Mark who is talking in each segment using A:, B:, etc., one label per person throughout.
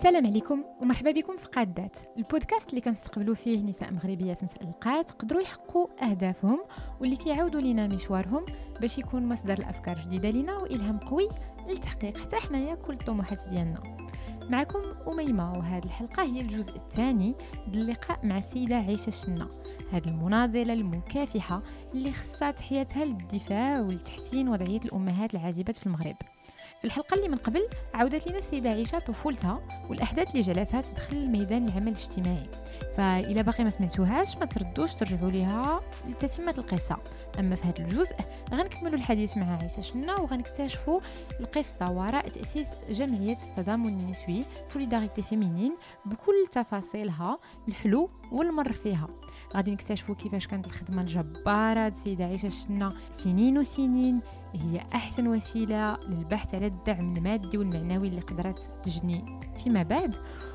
A: السلام عليكم ومرحبا بكم في قادات، البودكاست اللي كنستقبلوا فيه نساء مغربيات متألقات قدروا يحققوا أهدافهم واللي كيعاودوا لنا مشوارهم باش يكون مصدر الأفكار جديدة لنا وإلهام قوي للتحقيق حتى حنايا كل الطموحات ديالنا. معكم أميمة، وهذه الحلقة هي الجزء الثاني ديال اللقاء مع السيدة عيشة شنا، هذه المناضلة المكافحة اللي خصات حياتها للدفاع ولتحسين وضعية الأمهات العازبات في المغرب. في الحلقة اللي من قبل عودت لنا السيدة عيشة طفولتها والأحداث اللي جعلتها تدخل الميدان العمل الاجتماعي، فإلى باقي ما سمعتوهاش ما تردوش ترجعوا ليها لتتمة القصة. أما في هذا الجزء غنكملوا الحديث مع عيشة شنا وغنكتشفوا القصة وراء تأسيس جمعية التضامن النسوي سوليداريتي فيمينين بكل تفاصيلها الحلو والمر فيها. غادي نكتشفوا كيفاش كانت الخدمة الجبارة السيدة عيشة شنا سنين وسنين هي أحسن وسيلة للبحث على الدعم المادي والمعنوي اللي قدرت تجني فيما بعد.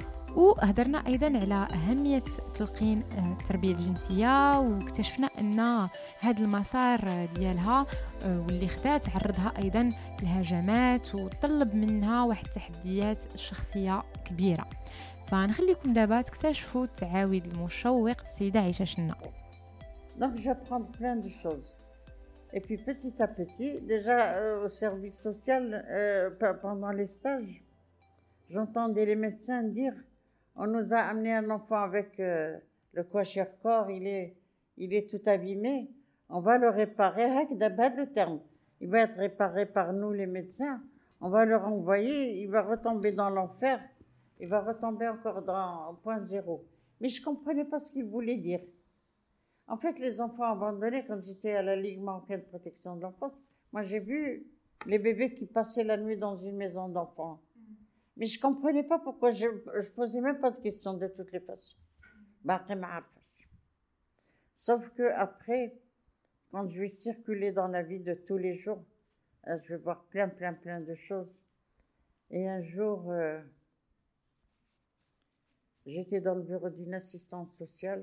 A: وهدرنا أيضا على أهمية تلقين التربية الجنسية، واكتشفنا أن هذا المسار ديالها واللي خدات عرضها أيضا لهجمات وطلب منها واحد التحديات الشخصية كبيرة. فنخليكم دابا تكتشفوا التعاويد المشوق السيدة عيشة شنا.
B: Donc j'apprends plein de choses. Et puis petit à petit, déjà au service social, pendant les stages, j'entendais les médecins dire on nous a amené un enfant avec le kwashiorkor, il est tout abîmé, on va le réparer, d'abord le terme. Il va être réparé par nous les médecins, on va le renvoyer, il va retomber dans l'enfer, il va retomber encore dans point zéro. Mais je ne comprenais pas ce qu'il voulait dire. En fait, les enfants abandonnés, quand j'étais à la Ligue marocaine de protection de l'enfance, moi j'ai vu les bébés qui passaient la nuit dans une maison d'enfants. Mais je ne comprenais pas pourquoi, je ne posais même pas de questions de toutes les façons. Sauf qu'après, quand je vais circuler dans la vie de tous les jours, je vais voir plein de choses. Et un jour, j'étais dans le bureau d'une assistante sociale.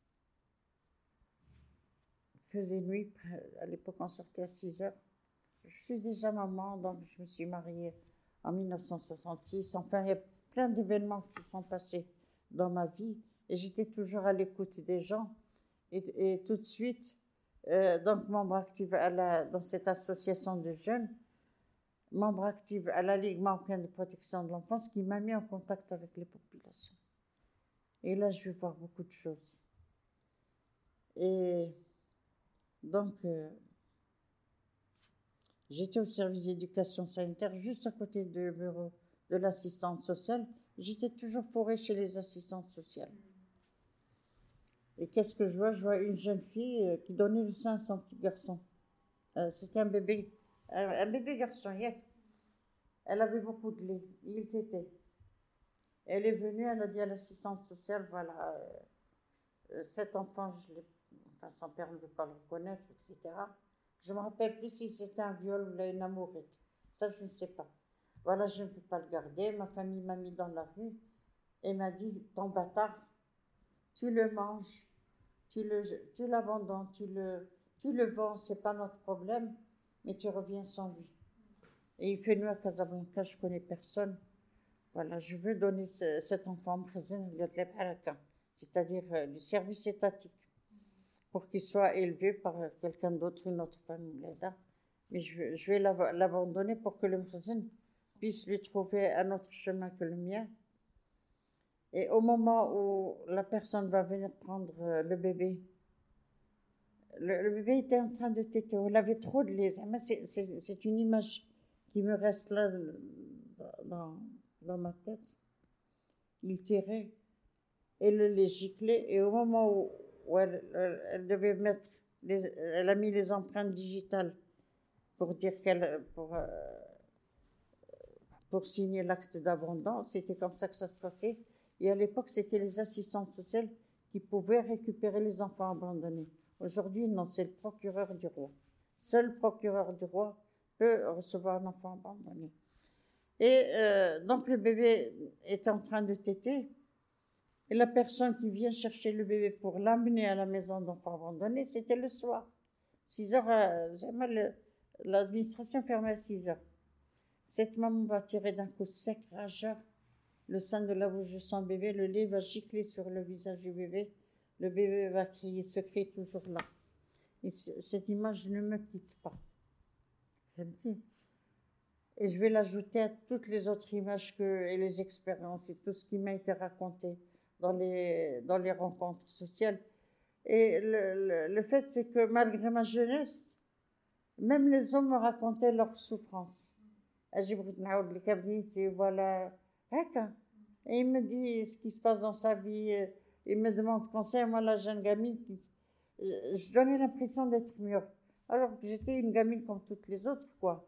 B: Il faisait nuit, à l'époque on sortait à 6 heures. Je suis déjà maman, donc je me suis mariée en 1966. Enfin, il y a plein d'événements qui se sont passés dans ma vie et j'étais toujours à l'écoute des gens. Et tout de suite, donc membre active dans cette association de jeunes, membre active à la Ligue marocaine de protection de l'enfance, qui m'a mis en contact avec les populations. Et là, je vais voir beaucoup de choses. Et donc, j'étais au service d'éducation sanitaire, juste à côté du bureau de l'assistante sociale. J'étais toujours fourrée chez les assistantes sociales. Et qu'est-ce que je vois? Je vois une jeune fille qui donnait le sein à son petit garçon. C'était un bébé garçon. Elle avait beaucoup de lait. Il tétait. Elle est venue, elle a dit à l'assistante sociale, voilà, cet enfant, son père ne veut pas le reconnaître, etc. Je ne me rappelle plus si c'était un viol ou une amourette. Ça, je ne sais pas. Voilà, je ne peux pas le garder. Ma famille m'a mis dans la rue et m'a dit, ton bâtard, tu le manges, tu l'abandonnes, tu le vends, ce n'est pas notre problème, mais tu reviens sans lui. Et il fait nuit à Casablanca, je ne connais personne. Voilà, je veux donner cet enfant, c'est-à-dire du service étatique, pour qu'il soit élevé par quelqu'un d'autre, une autre famille. Mais je vais l'abandonner pour que le mkhazin puisse lui trouver un autre chemin que le mien. Et au moment où la personne va venir prendre le bébé était en train de téter, il avait trop de lait. C'est une image qui me reste là dans ma tête. Il tirait et le lait giclait, et au moment où elle devait mettre, elle a mis les empreintes digitales pour dire pour signer l'acte d'abandon. C'était comme ça que ça se passait. Et à l'époque, c'était les assistantes sociales qui pouvaient récupérer les enfants abandonnés. Aujourd'hui, non, c'est le procureur du roi. Seul le procureur du roi peut recevoir un enfant abandonné. Et donc, le bébé était en train de téter. Et la personne qui vient chercher le bébé pour l'amener à la maison d'enfants abandonnés, c'était le soir. 6 heures, l'administration fermait à 6 heures. Cette maman va tirer d'un coup sec, rageur. le sein de la bouche de son bébé, le lait va gicler sur le visage du bébé, le bébé va crier, se crie toujours là. Et cette image ne me quitte pas. Et je vais l'ajouter à toutes les autres images et les expériences et tout ce qui m'a été raconté dans les rencontres sociales. Et le fait, c'est que malgré ma jeunesse, même les hommes me racontaient leurs souffrances. Et voilà. Et il me dit ce qui se passe dans sa vie. Il me demande conseil. Moi, la jeune gamine, je donnais l'impression d'être mûre. Alors que j'étais une gamine comme toutes les autres, quoi.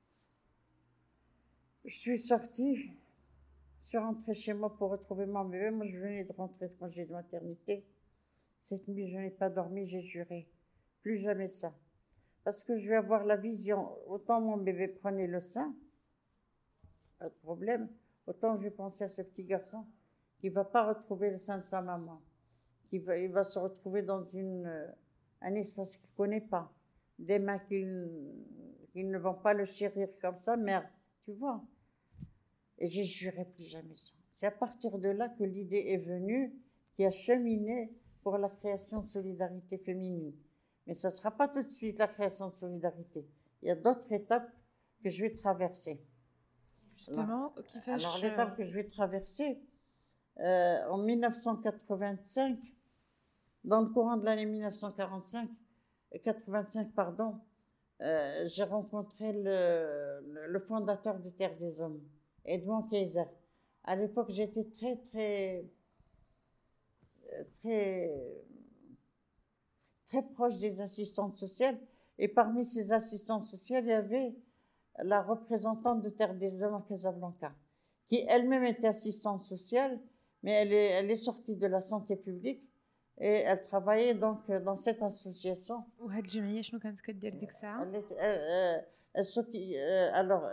B: Je suis sortie. Je suis rentrée chez moi pour retrouver mon bébé. Moi, je venais de rentrer de congé de maternité. Cette nuit, je n'ai pas dormi, j'ai juré. Plus jamais ça. Parce que je vais avoir la vision. Autant mon bébé prenait le sein, pas de problème. Autant je vais penser à ce petit garçon qui ne va pas retrouver le sein de sa maman. Il va se retrouver dans un espace qu'il ne connaît pas. Des mains qui ne vont pas le chérir comme ça, merde, tu vois. Et j'ai juré plus jamais ça. C'est à partir de là que l'idée est venue, qui a cheminé pour la création de Solidarité Féminine. Mais ça ne sera pas tout de suite la création de Solidarité. Il y a d'autres étapes que je vais traverser.
A: Justement,
B: alors l'étape que je vais traverser, en 1985, dans le courant de l'année 85, j'ai rencontré le fondateur de Terre des Hommes, Edmond Kayser. À l'époque, j'étais très proche des assistantes sociales. Et parmi ces assistantes sociales, il y avait la représentante de Terre des Hommes à Casablanca, qui elle-même était assistante sociale, mais elle est sortie de la santé publique et elle travaillait donc dans cette association.
A: وهاد الجمعيه شنو كانت كدير ديك الساعه؟
B: alors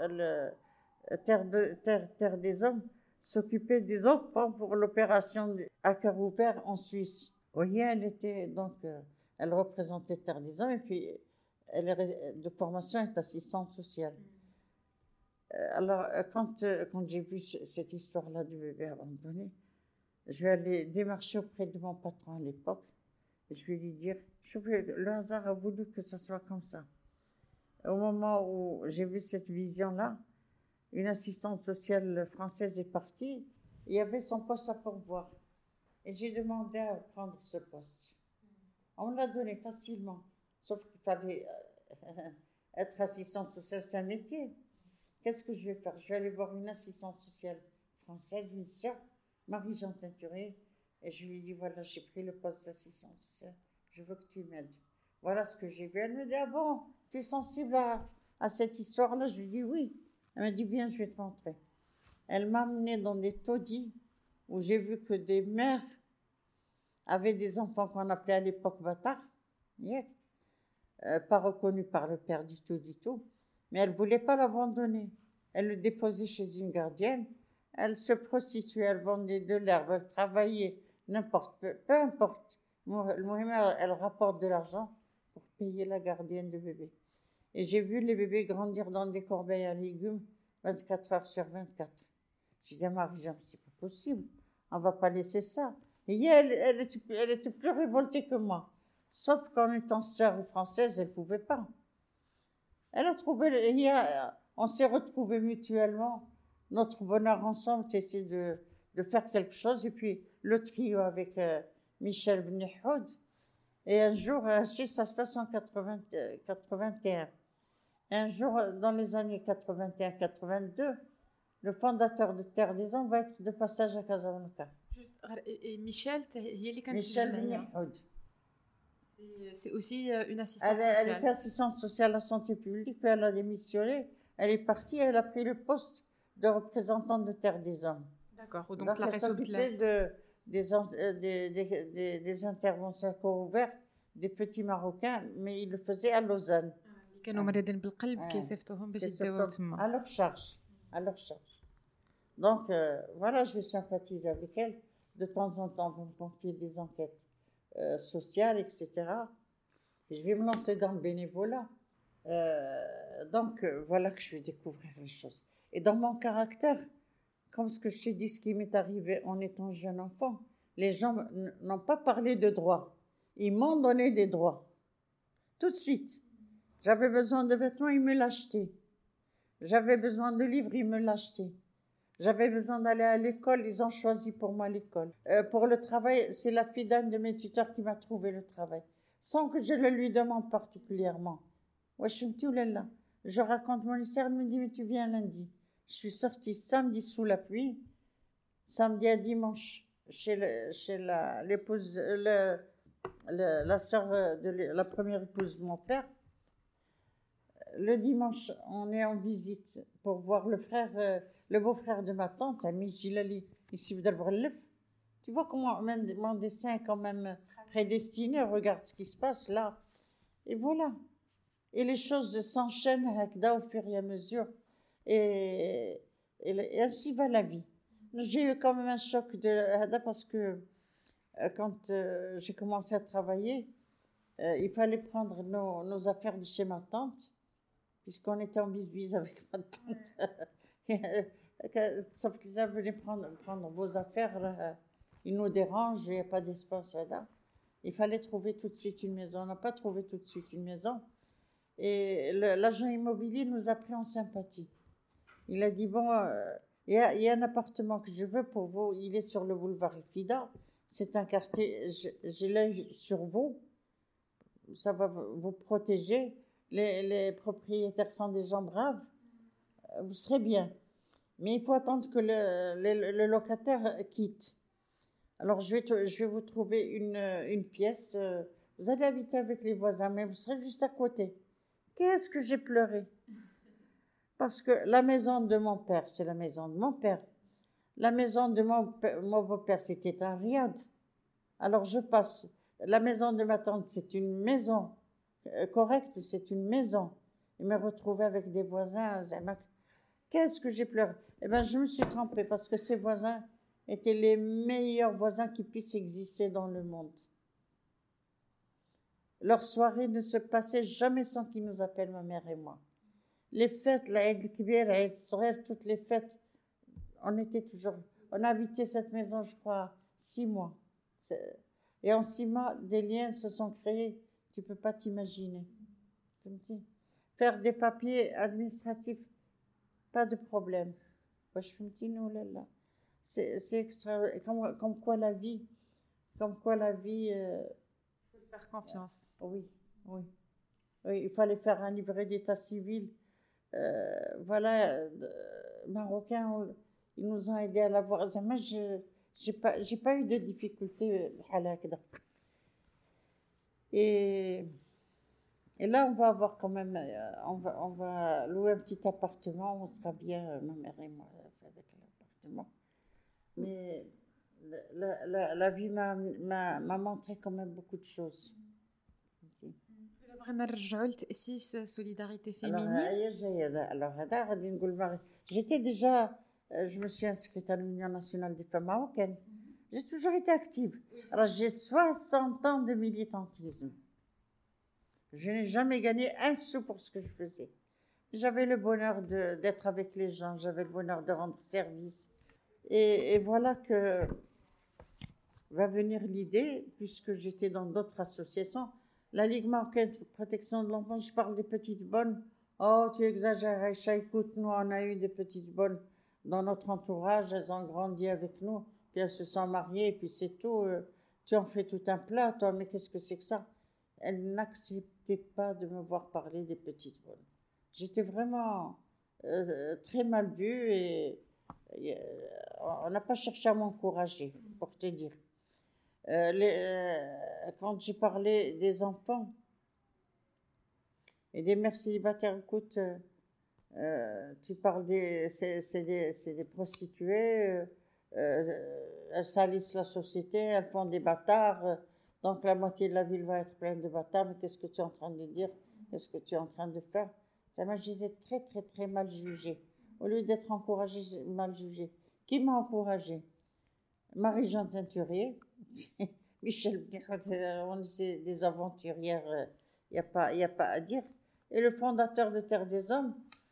B: Terre des Hommes s'occupait des enfants pour l'opération à cœur ouvert en Suisse. Oui, elle était donc elle représentait Terre des Hommes et puis elle est de formation est assistante sociale. Alors quand j'ai vu cette histoire-là du bébé abandonné, je vais aller démarcher auprès de mon patron à l'époque et je vais lui dire, le hasard a voulu que ça soit comme ça. Au moment où j'ai vu cette vision-là, une assistante sociale française est partie, il y avait son poste à pourvoir. Et j'ai demandé à prendre ce poste. On me l'a donné facilement, sauf qu'il fallait être assistante sociale, c'est un métier. Qu'est-ce que je vais faire? Je vais aller voir une assistante sociale française, une sœur, Marie-Jean Teinturé, et je lui dis, voilà, j'ai pris le poste d'assistante sociale, je veux que tu m'aides. Voilà ce que j'ai vu. Elle me dit, ah bon, tu es sensible à cette histoire-là? Je lui dis, oui. Elle me dit, viens, je vais te montrer. Elle m'a amenée dans des taudis où j'ai vu que des mères avaient des enfants qu'on appelait à l'époque bâtards, pas reconnus par le père du tout, mais elle ne voulait pas l'abandonner. Elle le déposait chez une gardienne, elle se prostituait, elle vendait de l'herbe, elle travaillait, peu importe. Elle rapporte de l'argent pour payer la gardienne de bébé. Et j'ai vu les bébés grandir dans des corbeilles à légumes 24 heures sur 24. J'ai dit à Marie-Jean, c'est pas possible, on va pas laisser ça. Et elle était plus révoltée que moi. Sauf qu'en étant sœur française, elle pouvait pas. Elle a trouvé, on s'est retrouvés mutuellement, notre bonheur ensemble, essayer de faire quelque chose. Et puis le trio avec Michel Bnihoud. Et un jour, ça se passe en 81. Un jour, dans les années 81-82, le fondateur de Terre des Hommes va être de passage à Casablanca.
A: Et Michel,
B: Michel Bnihoud.
A: C'est aussi une assistante sociale.
B: Elle était assistante sociale à la santé publique, puis elle a démissionné. Elle est partie, elle a pris le poste de représentante de Terre des Hommes.
A: D'accord.
B: Donc elle s'occupait des interventions à corps ouvert des petits Marocains, mais ils le faisaient à Lausanne.
A: كانوا مريضين بالقلب كيصيفطوهم باش يداووا تما.
B: À leur charge. Donc voilà, je sympathise avec elle. De temps en temps, on me confie des enquêtes sociales, etc. Et je vais me lancer dans le bénévolat. Donc voilà que je vais découvrir les choses. Et dans mon caractère, comme ce que je t'ai dit, ce qui m'est arrivé en étant jeune enfant, les gens n'ont pas parlé de droits. Ils m'ont donné des droits. Tout de suite. J'avais besoin de vêtements, ils me l'achetaient. J'avais besoin de livres, ils me l'achetaient. J'avais besoin d'aller à l'école, ils ont choisi pour moi l'école. Pour le travail, c'est la fille d'un de mes tuteurs qui m'a trouvé le travail, sans que je le lui demande particulièrement. Ouais, je raconte mon histoire, elle me dit, mais tu viens lundi. Je suis sortie samedi sous la pluie, samedi à dimanche, chez l'épouse, la sœur de la première épouse de mon père. Le dimanche, on est en visite pour voir le beau-frère de ma tante, Ami Gilali, ici d'Al. Tu vois comment mon dessin est quand même prédestiné, regarde ce qui se passe là. Et voilà. Et les choses s'enchaînent au fur et à mesure. Et ainsi va la vie. J'ai eu quand même un choc parce que quand j'ai commencé à travailler, il fallait prendre nos affaires de chez ma tante, puisqu'on était en bisbise avec ma tante. Sauf que là, venez prendre vos affaires, là, ils nous dérangent, il n'y a pas d'espace là. Il fallait trouver tout de suite une maison. On n'a pas trouvé tout de suite une maison. Et l'agent immobilier nous a pris en sympathie. Il a dit, bon, il y a un appartement que je veux pour vous, il est sur le boulevard Fida. C'est un quartier, j'ai l'œil sur vous, ça va vous protéger. Les propriétaires sont des gens braves, vous serez bien. Mais il faut attendre que le locataire quitte. Alors, je vais vous trouver une pièce. Vous allez habiter avec les voisins, mais vous serez juste à côté. Qu'est-ce que j'ai pleuré? Parce que la maison de mon père, c'est la maison de mon père. La maison de mon beau-père, c'était un riad. Alors, je passe. La maison de ma tante, c'est une maison correcte, c'est une maison. Et me retrouver avec des voisins, qu'est-ce que j'ai pleuré? Eh bien, je me suis trompée parce que ces voisins étaient les meilleurs voisins qui puissent exister dans le monde. Leur soirée ne se passait jamais sans qu'ils nous appellent, ma mère et moi. Les fêtes, l'Aïd al-Kibir, l'Aïd al-Saghir, toutes les fêtes, on a habité cette maison, je crois, 6 mois. Et en 6 mois, des liens se sont créés, tu ne peux pas t'imaginer. Faire des papiers administratifs, pas de problème. C'est extra, comme quoi la vie.
A: Faire confiance.
B: Oui, il fallait faire un livret d'état civil. Voilà, Marocains, ils nous ont aidés à l'avoir. Moi, j'ai pas eu de difficultés. Et là, on va avoir quand même, on va louer un petit appartement, on sera bien, ma mère et moi, avec l'appartement. Mais la vie m'a montré quand même beaucoup de choses.
A: Solidarité féminine.
B: Alors, j'étais déjà, je me suis inscrite à l'Union nationale des femmes marocaines. J'ai toujours été active. Alors, j'ai 60 ans de militantisme. Je n'ai jamais gagné un sou pour ce que je faisais. J'avais le bonheur d'être avec les gens, j'avais le bonheur de rendre service. Et voilà que va venir l'idée, puisque j'étais dans d'autres associations, la Ligue marocaine de protection de l'enfance, je parle des petites bonnes. Oh, tu exagères, Aïcha, écoute, nous, on a eu des petites bonnes dans notre entourage, elles ont grandi avec nous, puis elles se sont mariées, et puis c'est tout. Tu en fais tout un plat, toi, mais qu'est-ce que c'est que ça? Elles n'acceptaient pas de me voir parler des petites bonnes. J'étais vraiment très mal vue et on n'a pas cherché à m'encourager, pour te dire. Quand j'ai parlé des enfants et des mères célibataires, écoute, tu parles c'est des prostituées, elles salissent la société, elles font des bâtards, donc la moitié de la ville va être pleine de bâtards, mais qu'est-ce que tu es en train de dire? Qu'est-ce que tu es en train de faire? Ça m'a très, très, très mal jugée. Au lieu d'être encouragée, j'ai mal jugée. Qui m'a encouragée? Marie-Jeanne Teinturier, Michel, on est des aventurières, il n'y a pas à dire. Et le fondateur de Terre des Hommes,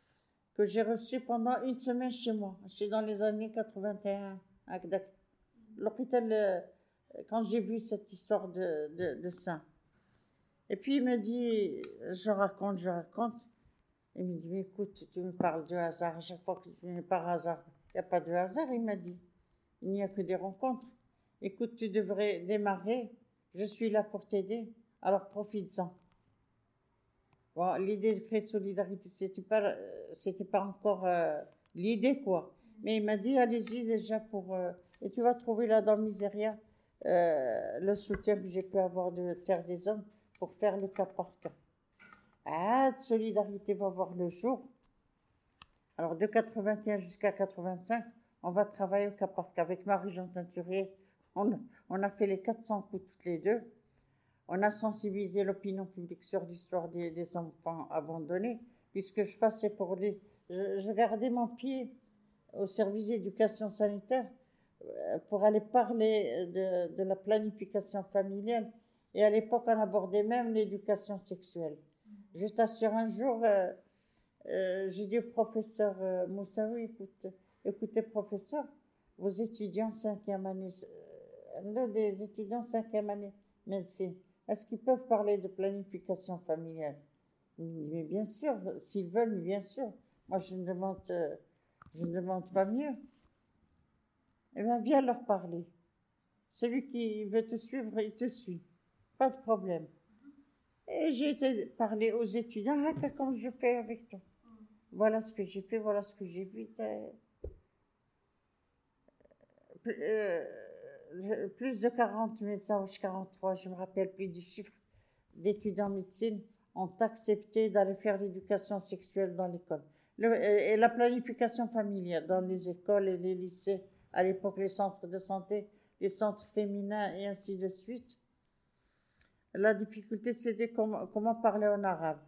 B: que j'ai reçu pendant une semaine chez moi. C'est dans les années 81 à Gdac. L'hôpital, quand j'ai vu cette histoire de sein. Et puis il me dit, je raconte. Il me dit, mais écoute, tu me parles de hasard. À chaque fois que tu me par hasard, il n'y a pas de hasard, il m'a dit. Il n'y a que des rencontres. Écoute, tu devrais démarrer. Je suis là pour t'aider. Alors profites-en. Bon, l'idée de créer solidarité, c'était pas encore l'idée, quoi. Mais il m'a dit, allez-y déjà et tu vas trouver là dans Miseria le soutien que j'ai pu avoir de Terre des Hommes pour faire le cas par cas. Ah, de solidarité va voir le jour. Alors, de 81 jusqu'à 85, on va travailler au cas par cas. Avec Marie-Jean Teinturier, on a fait les 400 coups toutes les deux. On a sensibilisé l'opinion publique sur l'histoire des enfants abandonnés, puisque je passais je gardais mon pied au service d'éducation sanitaire pour aller parler de la planification familiale. Et à l'époque, on abordait même l'éducation sexuelle. Je t'assure, un jour, j'ai dit au professeur Moussaoui, écoutez, professeur, vos étudiants 5e année, des étudiants 5e année médecine, est-ce qu'ils peuvent parler de planification familiale? Mais bien sûr, s'ils veulent, bien sûr. Moi, je ne demande pas mieux. Eh bien, viens leur parler. Celui qui veut te suivre, il te suit. Pas de problème. Et j'ai été parler aux étudiants, comme je fais avec toi. Voilà ce que j'ai fait, voilà ce que j'ai vu. Plus de 40 médecins, 43, je ne me rappelle plus du chiffre, d'étudiants en médecine ont accepté d'aller faire l'éducation sexuelle dans l'école. Et la planification familiale dans les écoles et les lycées, à l'époque les centres de santé, les centres féminins et ainsi de suite. La difficulté, c'était comment parler en arabe.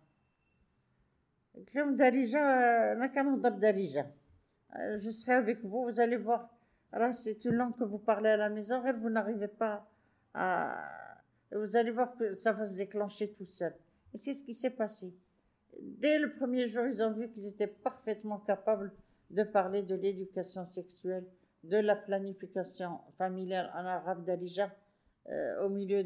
B: Je serai avec vous, vous allez voir. Alors, c'est une langue que vous parlez à la maison, et vous n'arrivez pas à... Vous allez voir que ça va se déclencher tout seul. Et c'est ce qui s'est passé. Dès le premier jour, ils ont vu qu'ils étaient parfaitement capables de parler de l'éducation sexuelle, de la planification familiale en arabe d'Alija, au milieu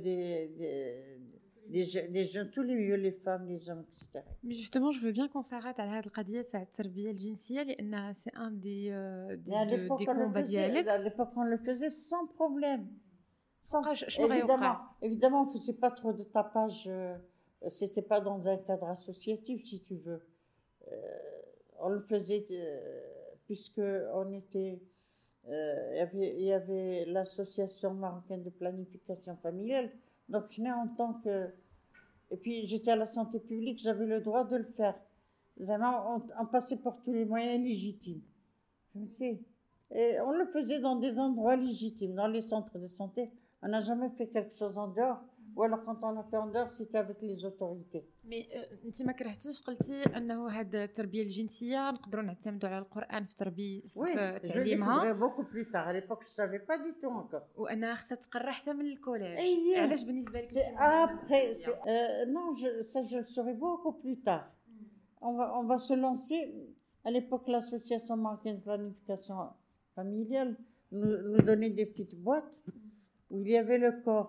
B: des jeunes, tous les milieux, les femmes, les hommes, etc.
A: Mais justement, je veux bien qu'on s'arrête à هذه القضية تاع التربية الجنسية لأن c'est un des combats ديالك.
B: À l'époque, on le faisait sans problème. Évidemment, on ne faisait pas trop de tapage. C'était pas dans un cadre associatif, si tu veux. On le faisait puisque on était... il y avait l'association marocaine de planification familiale. Donc, en tant que... Et puis, j'étais à la santé publique, j'avais le droit de le faire. On passait par tous les moyens légitimes. Et on le faisait dans des endroits légitimes, dans les centres de santé. On n'a jamais fait quelque chose en dehors. Ou alors, quand on a fait en dehors, c'était avec les autorités.
A: مي انت ما كرهتيش قلتي انه هاد التربيه الجنسيه نقدروا نعتمدوا على القران في في تعليمها.
B: beaucoup plus tard. À l'époque, je savais pas du tout encore.
A: وانها خصها تقرا حتى من الكوليج. علاش بالنسبه لك
B: après non, ça je le saurai beaucoup plus tard. On va se lancer. À l'époque, l'association marocaine de planification familiale nous donnait des petites boîtes où il y avait le corps,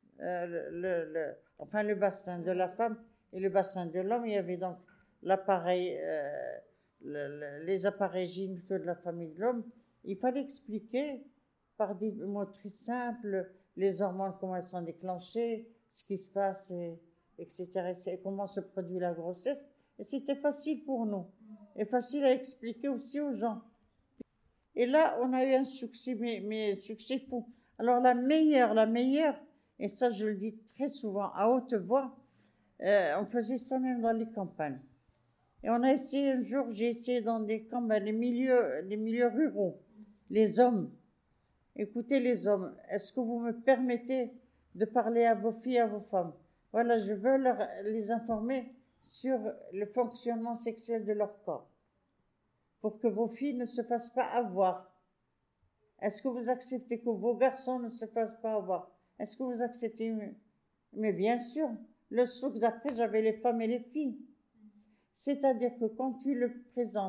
B: le bassin de la femme et le bassin de l'homme. Il y avait donc l'appareil, les appareils génitaux de la femme et de l'homme. Il fallait expliquer par des mots très simples les hormones, comment elles sont déclenchées, ce qui se passe, etc. Et comment se produit la grossesse. Et c'était facile pour nous. Et facile à expliquer aussi aux gens. Et là, on a eu un succès, mais succès fou. Alors la meilleure, et ça je le dis très souvent à haute voix, on faisait ça même dans les campagnes. Et on a essayé un jour, j'ai essayé dans des campagnes, les milieux ruraux, les hommes. Écoutez les hommes, est-ce que vous me permettez de parler à vos filles, à vos femmes? Voilà, je veux les informer sur le fonctionnement sexuel de leur corps, pour que vos filles ne se fassent pas avoir. Est-ce que vous acceptez que vos garçons ne se fassent pas avoir? Est-ce que vous acceptez? Mais bien sûr, le souk d'après, j'avais les femmes et les filles. C'est-à-dire que quand tu le présentes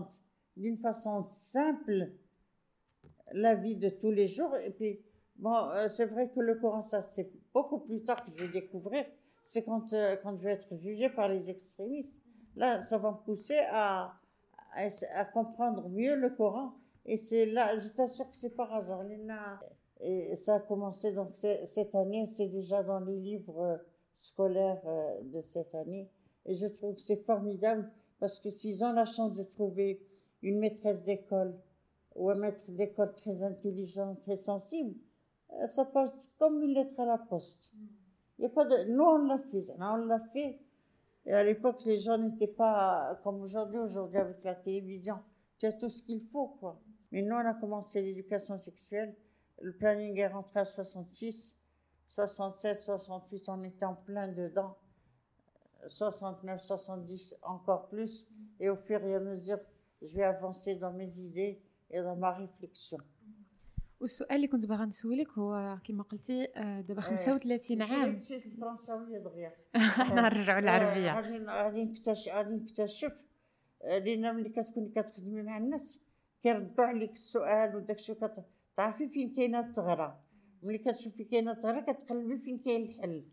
B: d'une façon simple la vie de tous les jours. Et puis, bon, c'est vrai que le Coran, ça, c'est beaucoup plus tard que je vais découvrir. C'est quand je vais être jugée par les extrémistes. Là, ça va me pousser à comprendre mieux le Coran. Et c'est là, je t'assure que c'est par hasard. Et ça a commencé, donc cette année, c'est déjà dans les livres scolaires de cette année. Et je trouve que c'est formidable parce que s'ils ont la chance de trouver une maîtresse d'école ou un maître d'école très intelligent, très sensible, ça passe comme une lettre à la poste. Il y a pas de... Nous, on l'a fait. Et à l'époque, les gens n'étaient pas comme aujourd'hui. Aujourd'hui, avec la télévision, tu as tout ce qu'il faut, quoi. Mais nous, on a commencé l'éducation sexuelle. Le planning est rentré à 66, 76, 68, on était en plein dedans. 69, 70, encore plus. Et au fur et à mesure, je vais avancer dans mes idées et dans ma réflexion.
A: والسؤال اللي كنت باغا نسولك هو كما قلتي دابا 35 عام.
B: مشيت الفرنساويه دغيا.
A: نرجعوا للعربيه.
B: غادي نكتشف لان ملي كتكوني كتخدمي مع الناس كيردوا عليك السؤال وداكشي تعرفي فين كاينه الثغره. ملي كتشوفي كاينه الثغره كتقلبي فين كاين الحل.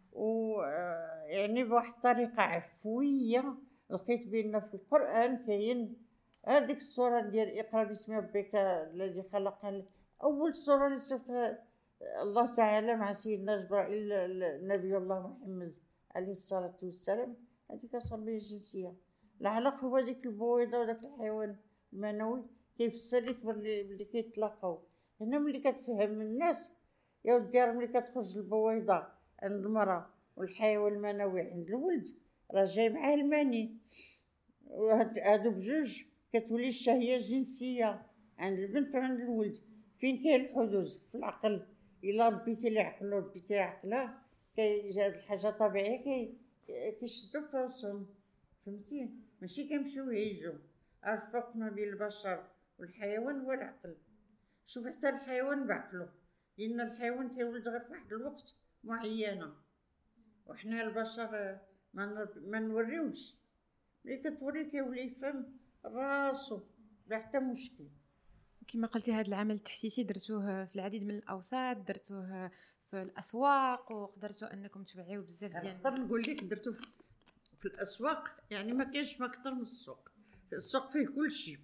B: يعني بواحد الطريقه عفويه لقيت بان في القران كاين هذيك السوره ديال اقرا باسم ربك الذي خلق. اول سوره اللي صفتها الله تعالى مع سيدنا جبرائيل نبي الله محمد عليه الصلاه والسلام هذيك التربيه الجنسيه. العلق هو ديك البويضه وداك الحيوان المنوي كيفسر لك بلي كيتلاقاو. هنا ملي كتفهم الناس يا ودي راه ملي كتخرج البويضه عند المراه والحيوان المنوي عند الولد راه جاي معاه المني، وهادو بجوج كتولي الشهيه الجنسيه عند البنت وعند الولد. فين كاين الحدود في العقل؟ الا ربيتي لي عقل وربيتي عقله هاد الحاجه طبيعيه كيشدو في راسهم، فهمتي؟ ماشي كيمشيو يعيجوا. الفرق ما بين البشر والحيوان هو العقل. شوف حتى الحيوان بعقله، لان الحيوان كيولد غير في واحد الوقت معينه، وحنا البشر ما نوريوش. ملي كتوري كيولي يفهم راسو بلا حتى مشكل.
A: كما قلتي هذا العمل التحسيسي درتوه في العديد من الاوساط، درتوه في الاسواق وقدرتوا انكم توعيوا بزاف ديال
B: نقدر نقول لك درتو في الاسواق. يعني ما كاينش ما اكثر من السوق. السوق فيه كل شيء.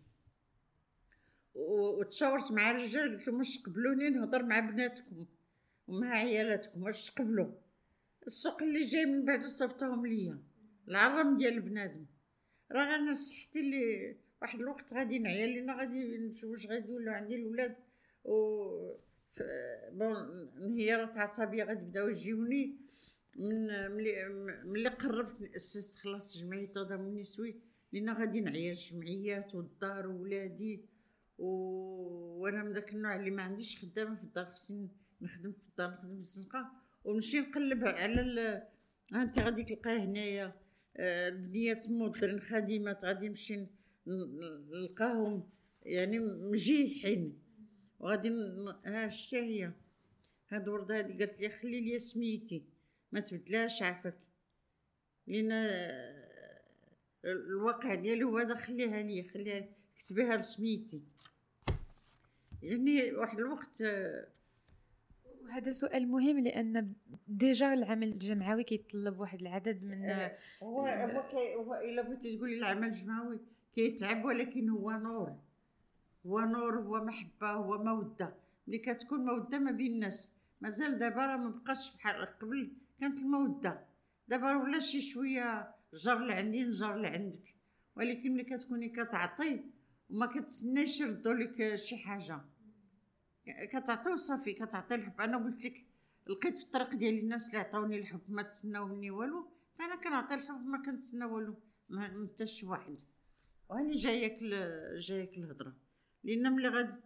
B: وتشاورت مع الرجال قلت لهم واش تقبلوني نهضر مع بناتكم ومع عيالاتكم، واش تقبلوا؟ السوق اللي جاي من بعد صيفطوهم ليا العرم ديال البنادم. راه انا صحتي اللي واحد الوقت غادي نعيا لينا غادي نشوف واش غادي يولوا عندي الاولاد و بون انهيارات عصبيه غتبداو يجيوني من ملي قربت نأسس خلاص جمعيه التضامن النسوي، لينا غادي نعيا الجمعيات والدار وولادي وانا من داك النوع اللي ما عنديش خدامه في الدار، خصني نخدم في الدار، نخدم في الزنقه ونمشي نقلب على انت غادي تلقاه هنايا البنيات مودرن خادمات غادي نمشي نلقاهم يعني مجيحين وغادي شتي هي هاد الورده هادي قالت لي خلي لي سميتي ما تبدلاش عافاك، لان الواقع ديالي هو هذا. خليها كتبيها بسميتي. يعني واحد الوقت
A: وهذا سؤال مهم لان ديجا العمل الجمعوي كيتطلب واحد العدد من
B: هو الا بغيتي تقولي العمل الجمعوي كيتعب، ولكن هو نور، هو محبه، هو موده. ملي كتكون موده ما بين الناس، مازال دابا راه ما بقاش بحال قبل كانت الموده، دابا ولا شي شويه جر لعندي نجر لعندك. ولكن ملي كتكوني كتعطي وما كتسناش يردوا لك شي حاجه، كتعطي وصافي، كتعطي الحب. انا قلت لك لقيت في الطريق ديالي الناس اللي عطاوني الحب ما تسناو مني والو، انا كنعطي الحب ما كنتسنى والو من حتى شي واحد. وهاني جايك الهضره، لان ملي غادي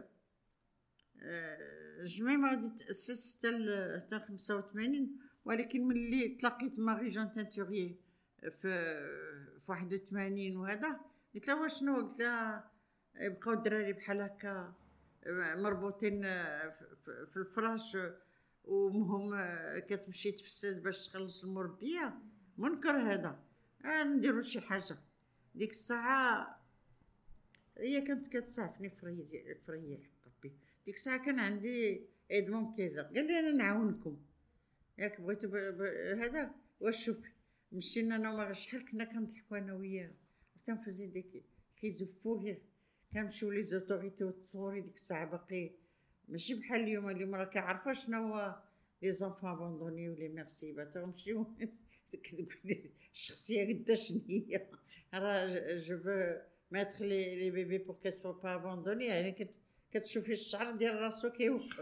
B: الجمعيه غادي تاسس حتى 85، ولكن ملي تلاقيت ماري جون تانتوريي في 81 وهذا قلت لها واش شنو، قلت لها يبقاو الدراري بحال هكا مربوطين في الفراش وهم كتمشي تفسد باش تخلص المربيه، منكر هذا. نديروا شي حاجه. ديك الساعه هي كانت كتسعفني في ريح ربي. ديك الساعه كان عندي ادمون كيزر، قال لي انا نعاونكم ياك بغيتو هذا. واش شوفي مشينا انا وما شحال كنا كنضحكوا انا وياه وتنفوزي ديك كيزفوا فيه. كنمشيو لي زوتوريتي وتصوري ديك الساعه باقي ماشي بحال اليوم راه كيعرفوا شنو هو لي زونفون ابوندوني ولي ميرسي تمشيو كتقولي الشخصيه قدا شنيا راه جو فو ميتر لي بيبي بور كي سو با ابوندوني، يعني كتشوفي الشعر ديال راسو كيوقف.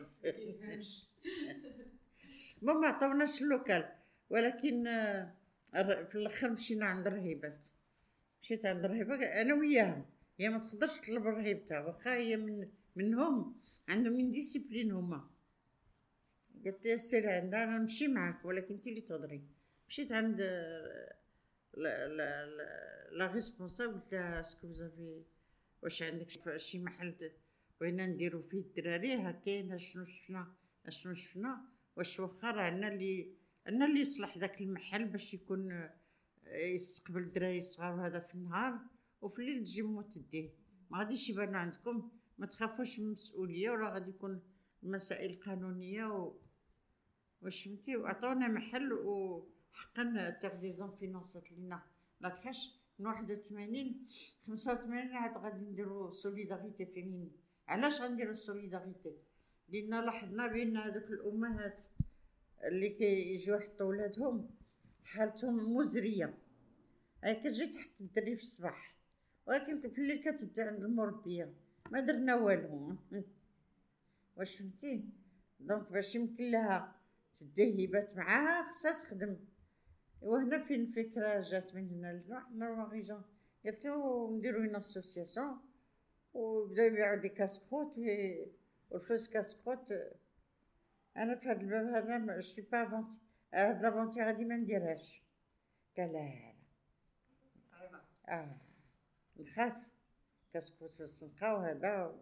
B: ما عطاوناش اللوكال، ولكن في الاخر مشينا عند الرهيبات. مشيت عند الرهيبه انا وياهم، هي ما تقدرش تطلب رهيبتها واخا هي منهم عندهم من ديسيبلين هما. قلت لها سيري عندها انا نمشي معاك ولكن انت اللي تهضري. مشيت عند لا ريسبونسابل قلت لها اسكو زافي واش عندك شي محل بغينا نديرو فيه الدراري هكاين شنو شفنا واش واخا راه عندنا اللي يصلح داك المحل باش يكون يستقبل الدراري الصغار هذا في النهار وفي الليل تجي مو تديه. ما غاديش يبانو عندكم، ما تخافوش من المسؤوليه وراه غادي يكون المسائل قانونيه واش فهمتي. وعطونا محل وحقا تاغديزون فينونسات لينا لاكاش من 81 85 عاد غادي نديرو سوليداريتي فيمين. علاش غنديرو سوليداريتي؟ لان لاحظنا بان هذوك الامهات اللي كيجيو يحطوا ولادهم حالتهم مزريه، هاي كتجي تحت الدري في الصباح ولكن في الليل كتدي عند المربيه ما درنا والو. واش فهمتي؟ دونك باش يمكن لها تدي هبات معاها خصها تخدم. وهنا فين الفكره جات من هنا لواحد النورماليجان قالتلو نديرو اون اسوسياسيون وبداو يبيعوا دي كاسكروت والفلوس كاسكروت. انا في هذا الباب هذا ما شي با فونتي هاد لافونتي غادي ما نديرهاش. قال لا نخاف كاسكروت في الزنقه وهذا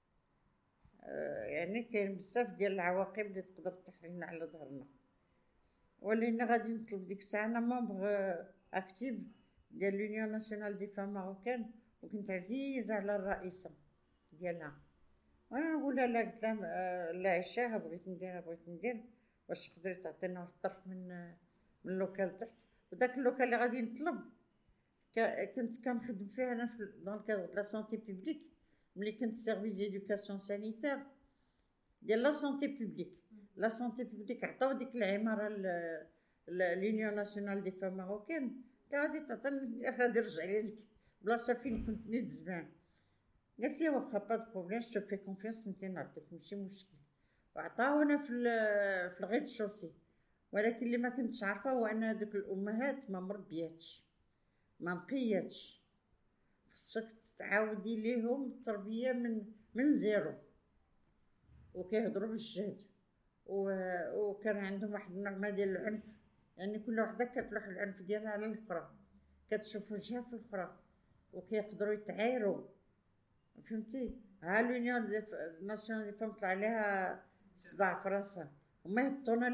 B: يعني كاين بزاف ديال العواقب اللي تقدر تطيح لنا على ظهرنا. ولينا غادي نطلب ديك الساعه انا ممبر اكتيف ديال لونيون ناسيونال دي فام ماروكان وكنت عزيزه على الرئيسه ديالها. وانا نقول لها لا قلت لها لا عشاها بغيت ندير واش تقدري تعطينا واحد الطرف من اللوكال تحت. وداك اللوكال اللي غادي نطلب كنت كنخدم فيه انا في دون كادر لا سونتي بوبليك ملي كنت سيرفيس ديدوكاسيون سانيتير ديال لا سونتي بوبليك. لا سونتي بوبليك عطاو ديك العماره لونيون ناسيونال دي فام ماروكان غادي تعطيني غادي نرجع لي ديك بلاصه فين كنت نيت زمان. قالت لي واخا با دو بروبليم جو في كونفيونس انت نعطيك ماشي مشكل. وعطاونا في الغيط شوسي. ولكن اللي ما كنتش عارفه هو ان هذوك الامهات ما مربياتش ما نقياتش. خصك تعاودي ليهم التربيه من زيرو وكيهضروا بالجهد وكان عندهم واحد النوع ديال العنف، يعني كل وحده كتلوح العنف ديالها على الاخرى كتشوف وجهها في الاخرى وكيقدروا يتعايروا. فهمتي؟ ها لونيون ناسيونال دي فام طلع عليها صداع في راسها وما هبطونا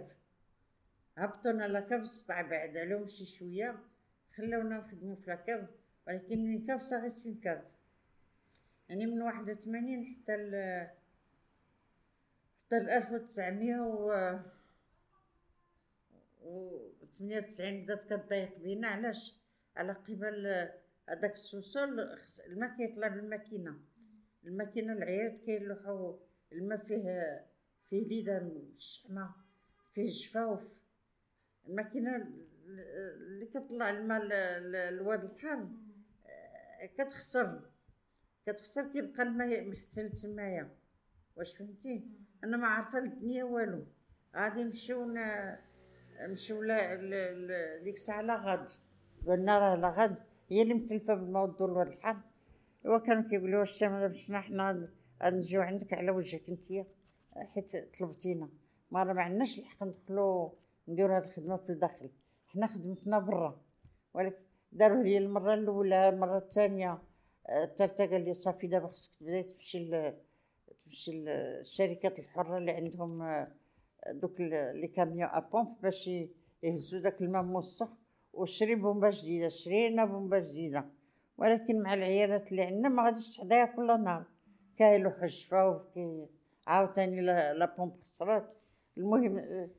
B: لاكاف الصداع بعد عليهم شي شويه خلاونا نخدموا في لاكاف. ولكن من كاف صارت من كاف يعني من 81 حتى ل 1998 بدات كتضايق بينا. علاش؟ على قبل هذاك السوسول الماء كيطلع بالماكينه العيالات كيلوحوا الماء فيه ليدان الشحمه فيه جفاوف. الماكينه اللي كتطلع الماء الواد الحار كتخسر كيبقى الماء محتل تمايا. واش فهمتي؟ انا ما عارفه الدنيا والو. غادي نمشيو ديك الساعه لا غاد قلنا راه لا غاد هي اللي مكلفه بالموضوع الواد الحار. ايوا كانوا كيقولوا واش باش حنا غنجيو عندك على وجهك انتيا حيت طلبتينا. ما راه ما عندناش الحق ندخلوا نديروا هاد الخدمه في الداخل، حنا خدمتنا برا. ولكن داروا لي المره الاولى المره الثانيه الثالثه قال لي صافي دابا خصك تبداي تمشي الشركات الحره اللي عندهم دوك لي كاميون ابومب باش يهزوا داك الماء موسخ وشري بومبه جديده. شرينا بومبه جديده ولكن مع العيالات اللي عندنا ما غاديش تحداها كل نهار، كايلو حجفه وكي عاوتاني لا بومب خسرات. المهم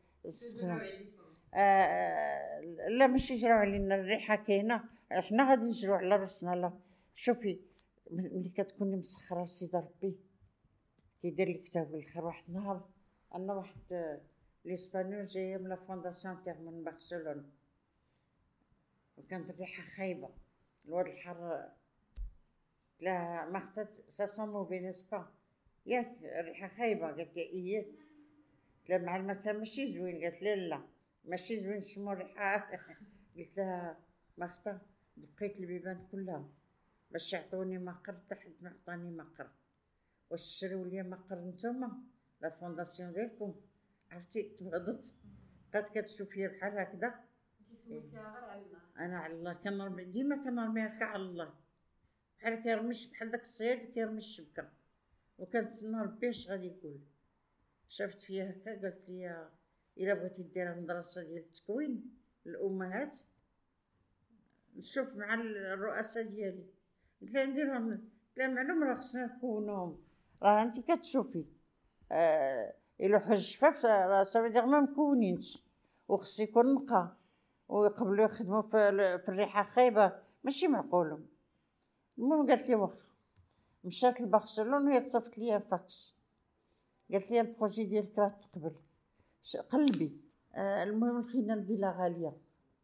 B: لا ماشي يجراو علينا، الريحه كاينه، حنا غادي نجرو على راسنا. لا شوفي، ملي كتكوني مسخره سيدي ربي كيدير لك حتى الخير. واحد النهار انا واحد الاسبانيول جايه من لا فونداسيون تاع من برشلونه، وكانت الريحه خايبه، الواد الحر لا ما اختت سا موفي نسبا، ياك الريحه خايبه. قالت لي ايه، قلت مع المكان ماشي زوين، قالت لي لا ماشي زوين نشمو الريحه. قلت لها ما اختا، دقيت البيبان كلها باش يعطوني مقر، حتى حد ما عطاني مقر. واش تشريو لي مقر نتوما لا فونداسيون ديالكم؟ عرفتي تبغضت، بقات كتشوف فيا بحال هكذا.
A: انت سولتيها غير على الله.
B: انا على الله كنرمي، ديما كنرمي هكا على الله، بحال كيرميش، بحال داك الصياد كيرمي الشبكه، وكنتسنى ربي اش غادي يقول. شافت فيا هكا قالت لي الا بغيتي ديرها مدرسه ديال التكوين الامهات نشوف مع الرؤساء ديالي. قلت لها نديرهم، قلت لها معلوم راه خصنا نكونوهم، راه انت كتشوفي الا حج شفاف راه صافي ما مكونينش، وخص يكون نقا، ويقبلوا يخدموا في الريحه خايبه، ماشي معقول. المهم قالت لي واخا، مشات لبرشلونه وهي تصيفط لي فاكس، قالت لي البروجي ديالك راه تقبل، قلبي. المهم لقينا الفيلا غاليه،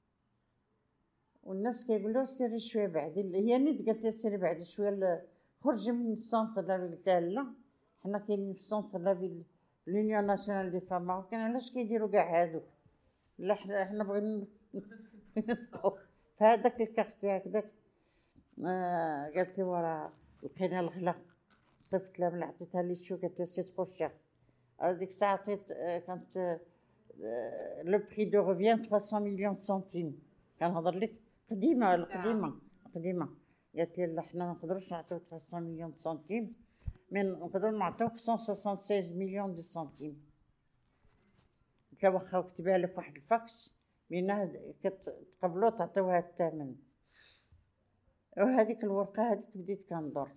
B: والناس كيقولوا سيري شويه بعد، هي نيت قالت لي سيري بعد شويه، خرجي من السونتر لا فيل. قلت لها لا، حنا كاينين في السونتر لا فيل لونيون ناسيونال دي فام ماروكان، علاش كيديروا كاع هادوك؟ لا حنا بغينا في هذاك الكارتي هكذاك. قالت لي وراه لقينا الغلا، صيفط لها، من عطيتها لي شو، قالت لي سي ترو شير. هذيك الساعه عطيت كانت لو بري دو ريفيان 300 مليون سنتيم، كنهضر لك قديمه قديمه. قالت لي لا حنا ما نقدروش نعطيو 300 مليون سنتيم، من نقدروا نعطيوك 176 مليون دو سنتيم. قلت لها واخا، كتبها لها في واحد الفاكس بينها كتقبلوا تعطيوها الثمن. وهذيك الورقه هذيك بديت كندور،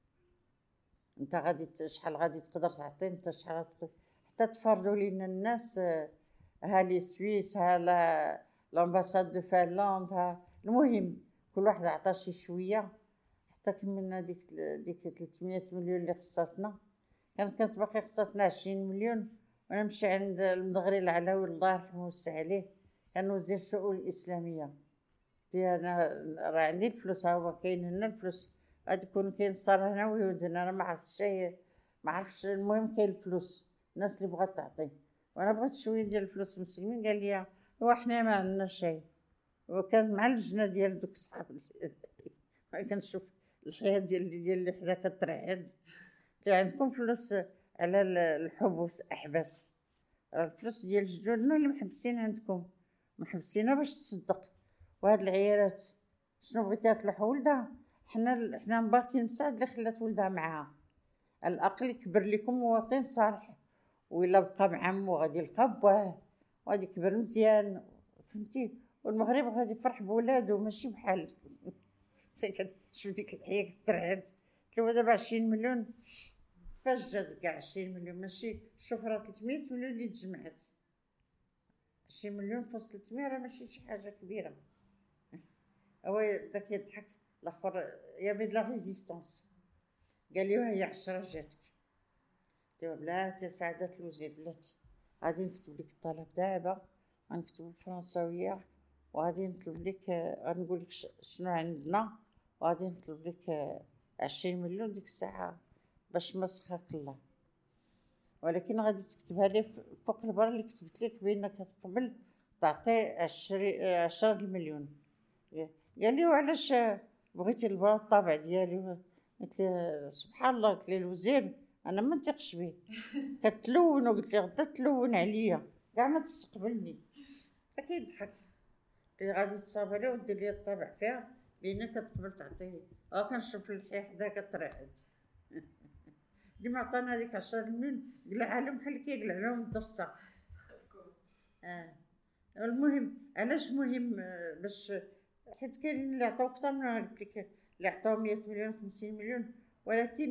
B: انت غادي شحال غادي تقدر تعطي، انت شحال حتى تفرضوا لينا الناس، ها لي سويس، ها لامباساد دو فنلندا، ها المهم كل واحد عطى شي شويه، حتى كملنا ديك 300 مليون اللي خصاتنا. كانت باقي خصاتنا 20 مليون، وانا نمشي عند المدغري العلوي الله يرحمه ويوسع عليه، كان وزير الشؤون الاسلاميه. قلت له انا راه عندي الفلوس، ها هو كاين هنا الفلوس، غادي يكون كاين صار هنا ويهود هنا، انا ما عرفتش المهم كاين الفلوس، الناس اللي بغات تعطي، وانا بغيت شويه ديال الفلوس مسلمين. قال لي هو حنا ما عندنا شيء، وكان مع اللجنه ديال دوك صحاب كنشوف الحياه ديال اللي حدا كترعد. اللي عندكم فلوس على الحبوس احبس، الفلوس ديال جدودنا اللي محبسين عندكم، محبسينها باش تصدق. وهاد العيالات شنو بغيتي تلوح ولدها؟ حنا مباركين نساعد اللي خلات ولدها معاها، على الاقل يكبر لكم مواطن صالح، وإلا بقى مع عمو غادي يلقى باه، وغادي يكبر مزيان، فهمتي؟ والمغرب غادي يفرح بولادو ماشي بحال شوف ديك الحياه كترعد. قلت دابا 20 مليون فاش جات كاع 20 مليون؟ ماشي، شوف راه 300 مليون اللي تجمعات، 20 مليون فاص 300 راه ماشي شي حاجه كبيره. هو داك يضحك الاخر، يافي د لا ريزيستانس. قال لي وهي 10 جاتك. قلت له بلاتي سعادة الوزير، بلاتي غادي نكتب لك الطلب دابا، غنكتبو بالفرنساويه، وغادي نطلب لك، غنقول لك شنو عندنا، وغادي نطلب لك 20 مليون ديك الساعه باش ما سخاك الله، ولكن غادي تكتبها لي فوق البر اللي كتبت لك بانك تقبل تعطي 10 المليون. قال لي وعلاش بغيتي البرا الطابع ديالي؟ قلت له سبحان الله، قلت له الوزير انا ما نثقش به، كتلون، وقلت له غدا تلون عليا كاع ما تستقبلني. كيضحك، قلت له غادي تصاوب لي ودير لي الطابع فيها بانك كتقبل تعطيه. كنشوف اللحيه حدا كترعد. اللي ما عطانا هذيك 10 مليون قلع عليهم بحال كيقلع لهم الضرسه. المهم علاش مهم؟ باش حيت كاينين اللي عطاو اكثر من قلت لك اللي عطاو 100 مليون 50 مليون، ولكن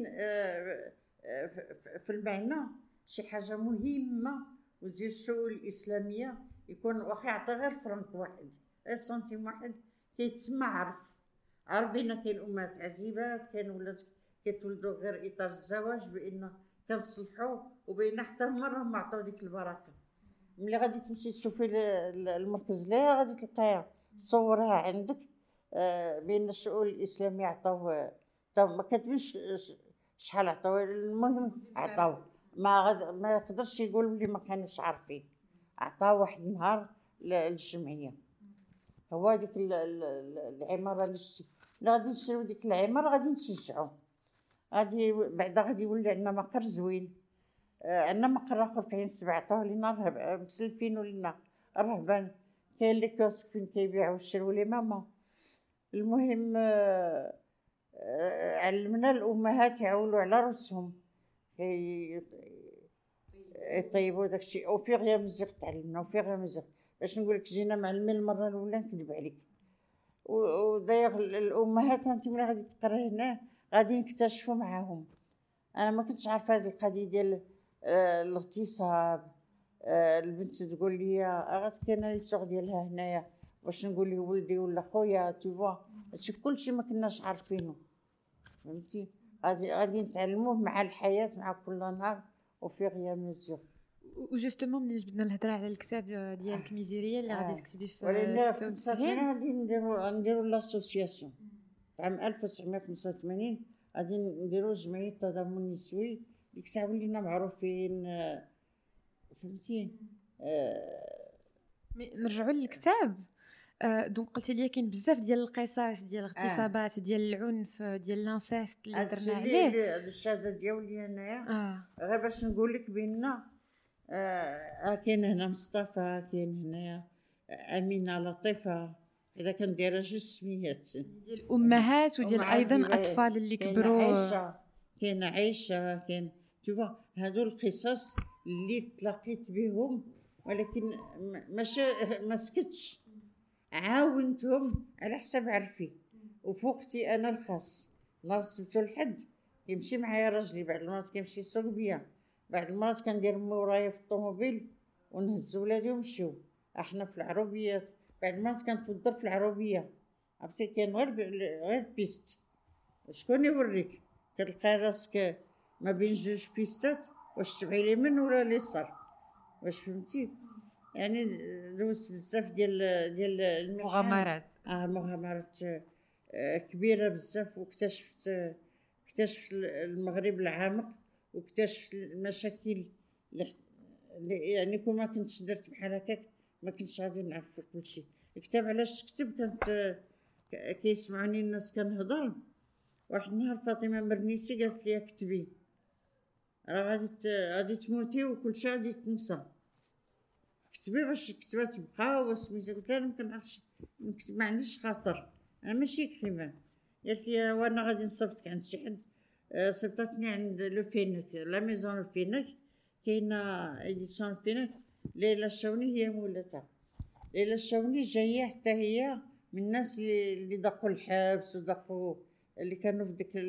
B: في المعنى شي حاجه مهمه. وزير الشؤون الاسلاميه يكون واخا يعطي غير فرنك واحد، غير سنتيم واحد، كيتسمى عرف بان كاين امهات عزيبات، كاين ولاد كيتولدوا غير اطار الزواج، بان كنصلحوا، وبين حتى هما راهم عطاو ديك البركه. ملي غادي تمشي تشوفي المركز اللي غادي تلقاها صورها عندك، بين الشؤون الاسلاميه عطاو ما كتبينش شحال عطاو، المهم عطاو. ما يقدرش يقول بلي ما كانوش عارفين. عطاو واحد النهار للجمعيه، هو ديك العماره اللي غادي نشريو ديك العماره، غادي نشجعو، غادي بعدا غادي يولي عندنا مقر زوين. عندنا مقر اخر في عين السبع عطاوه لينا مسلفين ولينا الرهبان، كاين اللي كيوسك فين كيبيعوا ويشريو لي ماما. المهم علمنا الامهات يعولوا على راسهم، يطيبوا داكشي. وفي غير مزيق تعلمنا، وفي غير مزيق باش نقولك جينا معلمين المره الاولى نكذب عليك. وداير الامهات انت ملي غادي تقرا هنا غادي نكتشفوا معاهم. انا ما كنتش عارفه هذه القضيه ديال الاغتصاب. البنت تقول لي غات كاينه ليسوغ ديالها هنايا، واش نقول له ولدي ولا خويا؟ تو هادشي كلشي ما كناش عارفينه، فهمتي؟ غادي نتعلموه مع الحياه، مع كل نهار، وفي غير مزيان.
A: وجوستومون ملي جبدنا الهضره على الكتاب ديالك ميزيريا اللي غادي تكتبي في
B: ولكن
A: 96،
B: غادي نديرو لاسوسياسيون عام 1985، غادي نديرو جمعيه التضامن النسوي. ديك الساعه ولينا معروفين، فهمتي؟
A: نرجعوا للكتاب. دونك قلتي لي كاين بزاف ديال القصص ديال الاغتصابات، ديال العنف، ديال لانسيست اللي درنا عليه.
B: هذا الشهاده ديالي هنايا غير باش نقول لك بان كاين هنا مصطفى، كاين هنايا امينه، لطيفه، اذا كنديرها جوج سميات
A: ديال الامهات وديال ايضا اطفال اللي كبروا.
B: كاين عايشه، كاين تشوف هادو القصص اللي تلاقيت بهم، ولكن ما سكتش، عاونتهم على حسب عرفي وفوقتي انا الخاص. نهار سبتو الحد كيمشي معايا راجلي، بعد المرات كيمشي يسوق بيا، بعد المرات كندير مورايا في الطوموبيل ونهز ولادي ونمشيو احنا في العربيات، بعد المرات كنتوضر في العربيه. عرفتي كاين غير بيست، شكون يوريك؟ كتلقى راسك ما بين جوج بيستات، واش تبعي اليمين ولا اليسار، واش فهمتي؟ يعني دوزت بزاف ديال
A: المغامرات.
B: مغامرات كبيره بزاف، واكتشفت المغرب العمق، واكتشفت المشاكل يعني كون ما كنتش درت بحال هكاك ما كنتش غادي نعرف كلشي. الكتاب علاش كتب؟ كانت كيسمعوني الناس كنهضر. واحد النهار فاطمه مرنيسي قالت لي كتبي، راه غادي تموتي وكلشي غادي تنسى، كتبي باش الكتابه تبقى. وسميتها قلت لها ما كنعرفش نكتب، ما عنديش خاطر، انا ماشي كريمه. قالت لي وانا غادي نصيفطك عند شي حد. صيفطتني عند لو فينك، لا ميزون لو فينك، كاينه اديسيون فينك. ليلى الشاوني هي مولاتها. ليلى الشاوني جايه حتى هي من الناس اللي دقوا الحبس ودقوا، اللي كانوا في ديك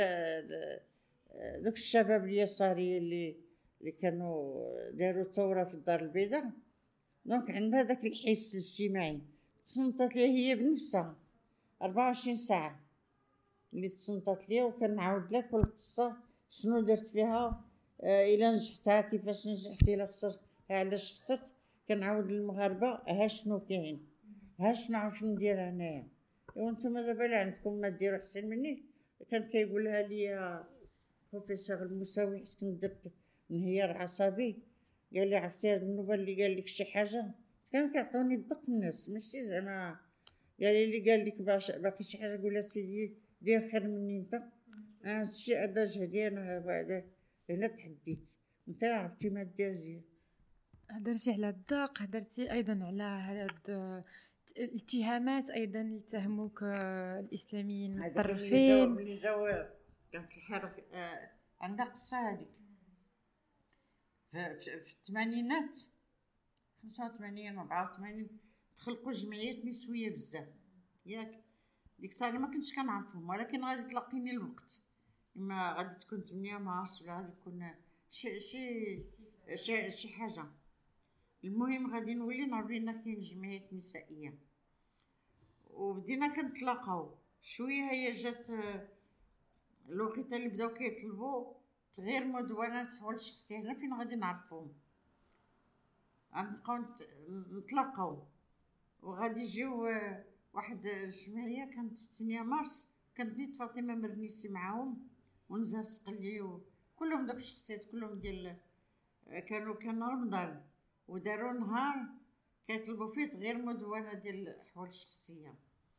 B: دوك الشباب اليساري اللي كانوا داروا ثوره في الدار البيضاء. دونك عندها داك الحس الاجتماعي. تصنتت لي هي بنفسها 24 ساعه اللي تصنتت لي، وكنعاود لها كل قصه شنو درت فيها، الا نجحتها كيفاش نجحتي، الا خسرت علاش خسرت. كنعاود للمغاربه ها شنو كاين، ها شنو عرفت ندير هنايا. وانتم دابا اللي عندكم ما ديروا احسن مني. كان كيقولها لي بروفيسور المساوي حيت كنت درت انهيار عصبي، قال لي عرفتي هاد النوبه اللي قال لك شي حاجه؟ كان كيعطوني الدق الناس ماشي زعما. قال لي اللي قال لك باقي شي حاجه قول له سيدي دير خير مني انت. هادشي هذا جهدي انا، بعدا هنا تحديت. انت عرفتي ما دير.
A: هدرتي على الدق، هدرتي ايضا على هاد الاتهامات ايضا اللي اتهموك الاسلاميين المتطرفين
B: اللي جاو. كانت الحرب عندها قصه هذيك في الثمانينات، 85 84 تخلقوا جمعيات نسويه بزاف ياك. ديك الساعه أنا ما كنتش كنعرفهم، ولكن غادي تلقيني الوقت، اما غادي تكون 8 مارس ولا غادي تكون شي حاجه. المهم غادي نولي نعرف بان كاين جمعيات نسائيه، وبدينا كنتلاقاو شويه. هي جات الوقيته اللي بداو كيطلبوا تغيير مدونات حول الشخصيه، هنا فين غادي نعرفوهم، غنبقاو نتلاقاو. وغادي يجيو واحد الجمعيه كانت في 8 مارس، كانت نيت فاطمه مرنيسي معاهم، ونزهه السقلي، كلهم داك الشخصيات كلهم ديال كان رمضان، وداروا نهار كيطلبوا فيه تغيير مدونه ديال الاحوال الشخصيه،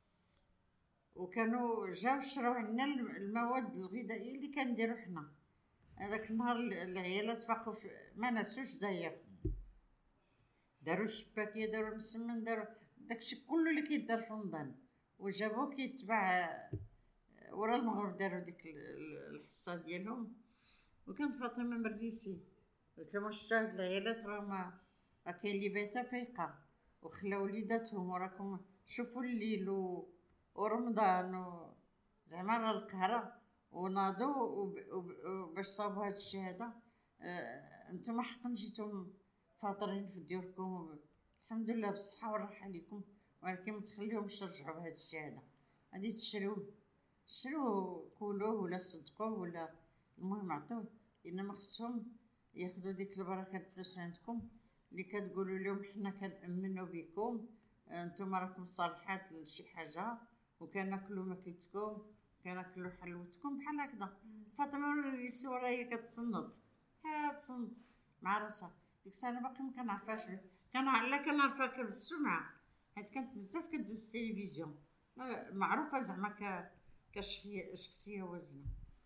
B: وكانوا جاو شراو عندنا المواد الغذائيه اللي كنديرو حنا. هذاك النهار العيالات فاقوا ما نسوش داير، داروا الشباكيه، داروا المسمن، داروا داكشي كله اللي كيدار في رمضان، وجابوه كيتباع ورا المغرب. داروا ديك الحصه ديالهم، وكانت فاطمه مرنيسي كما شفتوا هاد العيالات راه كاين اللي بايته فايقه وخلاو وليداتهم، وراكم شوفوا الليل ورمضان زعما راه القهره، وناضوا باش صابوا هاد الشهاده. انتم حقا جيتم فاطرين في ديوركم، الحمد لله بالصحه والراحه لكم، ولكن ما تخليهمش ترجعوا بهاد الشهاده. غادي شروه كولوه ولا صدقوه ولا المهم عطوه، انما خصهم ياخذوا ديك البركه الفلوس عندكم اللي كتقولوا لهم حنا كنأمنوا بكم، انتم راكم صالحات لشي حاجه، وكناكلوا ماكلتكم، كناكلوا حلوتكم بحال هكذا. فاطمه الرئيسي ورا هي كتصنت، تصنت مع راسها. ديك الساعه انا باقي ما كنعرفهاش، كنعرفها بالسمعه، حيت كانت بزاف كدوز التلفزيون، معروفه زعما كشخصيه وزنه.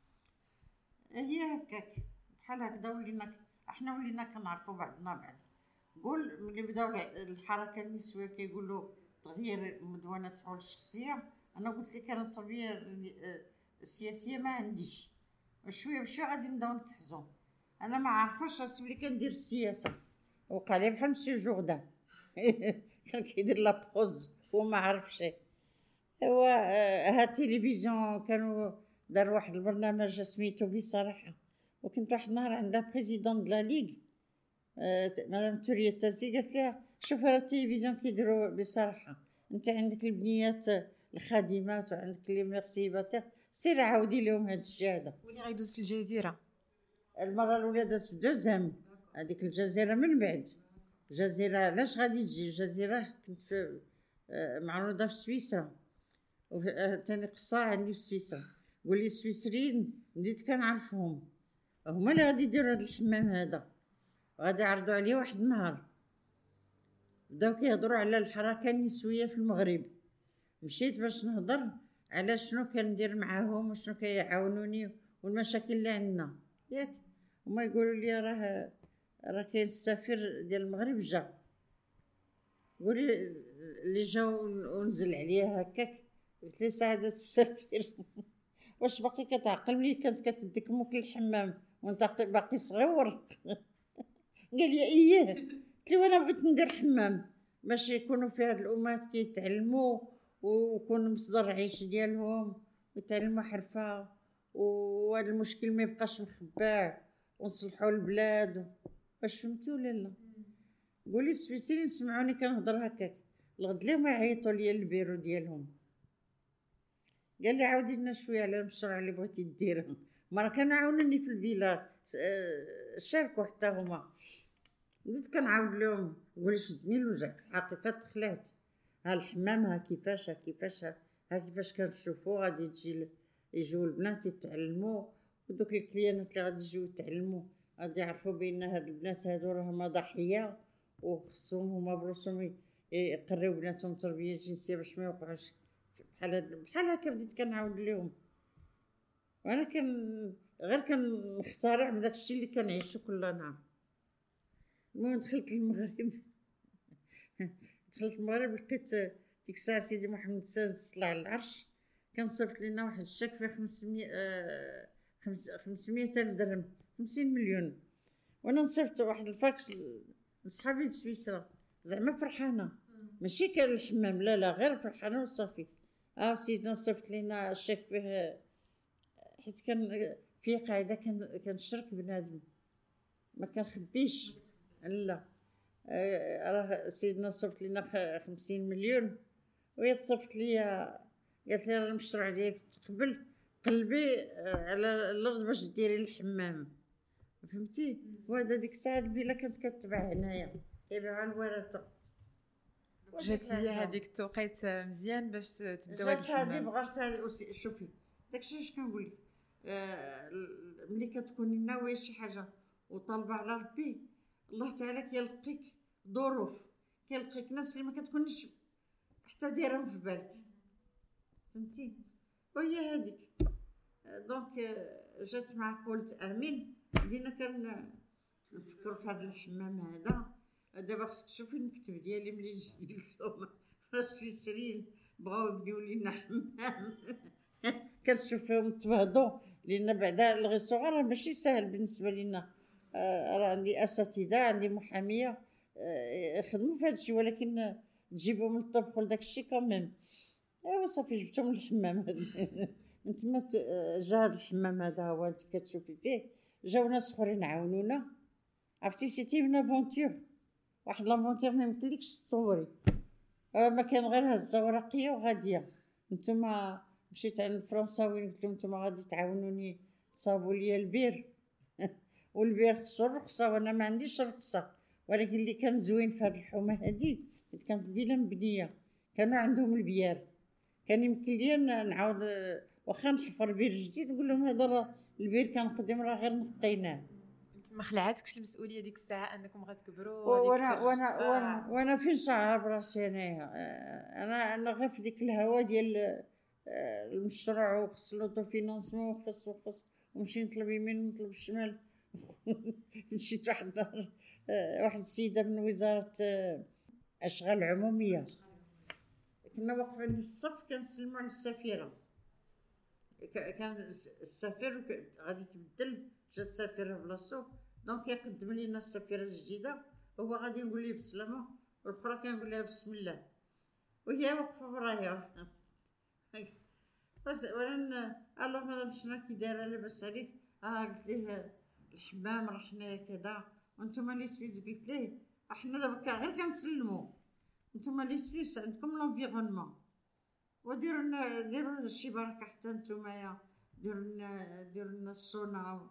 B: هي هكاك بحال هكذا ولينا كنعرفوا بعضنا بعض. قول ملي بداو الحركه النسويه كيقولوا تغيير مدونه حول الشخصيه، انا قلت لك انا التربيه السياسيه ما عنديش، شويه بشويه غادي نبداو نكحزوا. انا ما عارفاش راسي ملي كندير السياسه، وقع لي بحال مسيو جوردان كان كيدير لابوز وما عرفش. ايوا ها التلفزيون كانوا دار واحد البرنامج سميتو بصراحه، وكنت واحد النهار عندها بريزيدون دلا ليغ مدام توريه التازي، قالت لها شوف راه التلفزيون كيديروا بصراحه، انت عندك البنيات الخادمات وعندك لي ميرسيباتير، سير عاودي لهم هاد الشهاده.
A: واللي غيدوز في الجزيره
B: المره الاولى دازت في دوزام، هذيك الجزيره من بعد. الجزيره علاش غادي تجي الجزيره؟ كنت في معروضه في سويسرا، وثاني قصه عندي في سويسرا. قول لي السويسريين بديت كنعرفهم، هما اللي غادي يديروا هذا الحمام هذا، غادي يعرضوا عليه واحد النهار. بداو كيهضروا على الحركه النسويه في المغرب، مشيت باش نهضر على شنو كندير معاهم وشنو كيعاونوني والمشاكل اللي عندنا ياك. هما يقولوا لي راه كاين السفير ديال المغرب جا، قولي اللي جا ونزل عليا هكاك. قلت لي سعاده السفير واش باقي كتعقل ملي كانت كتديك موك للحمام وانت باقي صغير؟ قال لي اييه. قلت له انا بغيت ندير حمام باش يكونوا فيه هاد الامهات كيتعلموا ويكونوا مصدر عيش ديالهم ويتعلموا حرفه، وهذا المشكل ما يبقاش مخبع، ونصلحوا البلاد. واش فهمتي ولا لا؟ قولي السويسريين سمعوني كنهضر هكاك، الغد ليهم يعيطوا ليا البيرو ديالهم. قال لي عاودي لنا شويه على المشروع اللي بغيتي ديره. مرة كانوا عاونوني في الفيلا، شاركوا حتى هما. بديت كنعاود لهم، نقول شدني الوجع في الحقيقه، تخلعت. ها الحمام ها كيفاش كنشوفوا غادي يجيو البنات يتعلموا، ودوك الكليانات اللي غادي يجيو يتعلموا غادي يعرفوا بان هاد البنات هادو راهما ضحيه، وخصهم هما بروسهم يقريو بناتهم تربيه جنسيه باش ما يوقعوش بحال هكا. بديت كنعاود لهم، وانا غير كنخترع بداك الشيء اللي كنعيشو كل نهار. المهم دخلت المغرب لقيت ديك الساعه سيدي محمد السادس طلع على العرش، كان صيفط لنا واحد الشيك فيه 500,000 درهم، 50 مليون. وانا نصيفط واحد الفاكس لصحابي سويسرا، زعما فرحانه، ماشي كان الحمام لا غير فرحانه وصافي. سيدنا صيفط لينا الشيك فيه، حيت كان فيه قاعده كنشرك بنادم ما كنخبيش. لا راه سيدنا صيفط لينا 50 مليون، وهي تصيفط ليا قالت لي راه المشروع ديالك تقبل، قلبي على الارض باش ديري الحمام، فهمتي. وهذا ديك الساعه الفيلا كانت كتباع هنايا كيبيعوها الورثه.
A: جات لي هذيك التوقيت مزيان باش تبداو هذا
B: جات هذه
A: الحمام.
B: بغات شوفي داكشي اش كنقول لك. ملي كتكوني ناويه شي حاجه وطالبه على ربي، الله تعالى كيلقيك ظروف، كيلقيك ناس اللي ما كتكونيش حتى دايرهم في بالك، فهمتي. وهي هذيك دونك جات معاك قلت امين. بدينا كنفكروا في هذا الحمام هذا. دابا خصك تشوفي المكتب ديالي ملي جيت قلت لهم راه السويسريين بغاو يبنيو لينا حمام كنشوف فيهم تبهضوا، لان بعدا الغيستوران راه ماشي ساهل بالنسبه لينا. راه عندي اساتذه، عندي محاميه يخدموا في هذا الشيء، ولكن تجيبهم للطبخ وداك الشيء كامل. ايوا صافي جبتهم للحمام من تما جا هذا الحمام هذا هو انت كتشوفي فيه. جاو ناس اخرين عاونونا، عرفتي سيتي من افونتور، واحد لافونتور ما يمكنلكش تصوري. ما كان غير هزه ورقيه وغاديه. نتوما مشيت عند الفرنساويين قلت لهم نتوما غادي تعاونوني تصاوبوا لي البير والبير خصو الرخصه وانا ما عنديش الرخصه. ولكن اللي كان زوين في هذه الحومه هذه كانت الفيلا مبنيه، كانوا عندهم البيار، كان يمكن لي نعاود واخا نحفر بير جديد نقول لهم هذا راه البير كان قديم راه غير نقيناه.
A: ما خلعتكش المسؤوليه ديك الساعه انكم غتكبروا
B: وانا فين شعر براسي انايا. انا غير في ديك الهوا ديال المشروع وخص لوطو فينانسمون وخص ونمشي نطلب يمين ونطلب الشمال مشيت واحد النهار واحد السيده من وزاره اشغال عموميه، كنا واقفين في الصف كنسلموا على السفيره. كان السفير غادي تبدل، جات سفيره بلاصتو، دونك يقدم لينا السفيره الجديده، هو غادي نقول ليه بسلامه والاخرى كنقول لها بسم الله، وهي واقفه ورايا. وانا الله مادام شنو كي دايره لاباس عليك؟ قلت ليه الحمام راه حنايا كذا وانتم لي سويس. قلت ليه احنا دابا غير كنسلموا، نتوما لي سويس عندكم لونفيرونمون، ديروا شي بركه حتى نتوما ديروا لنا السونا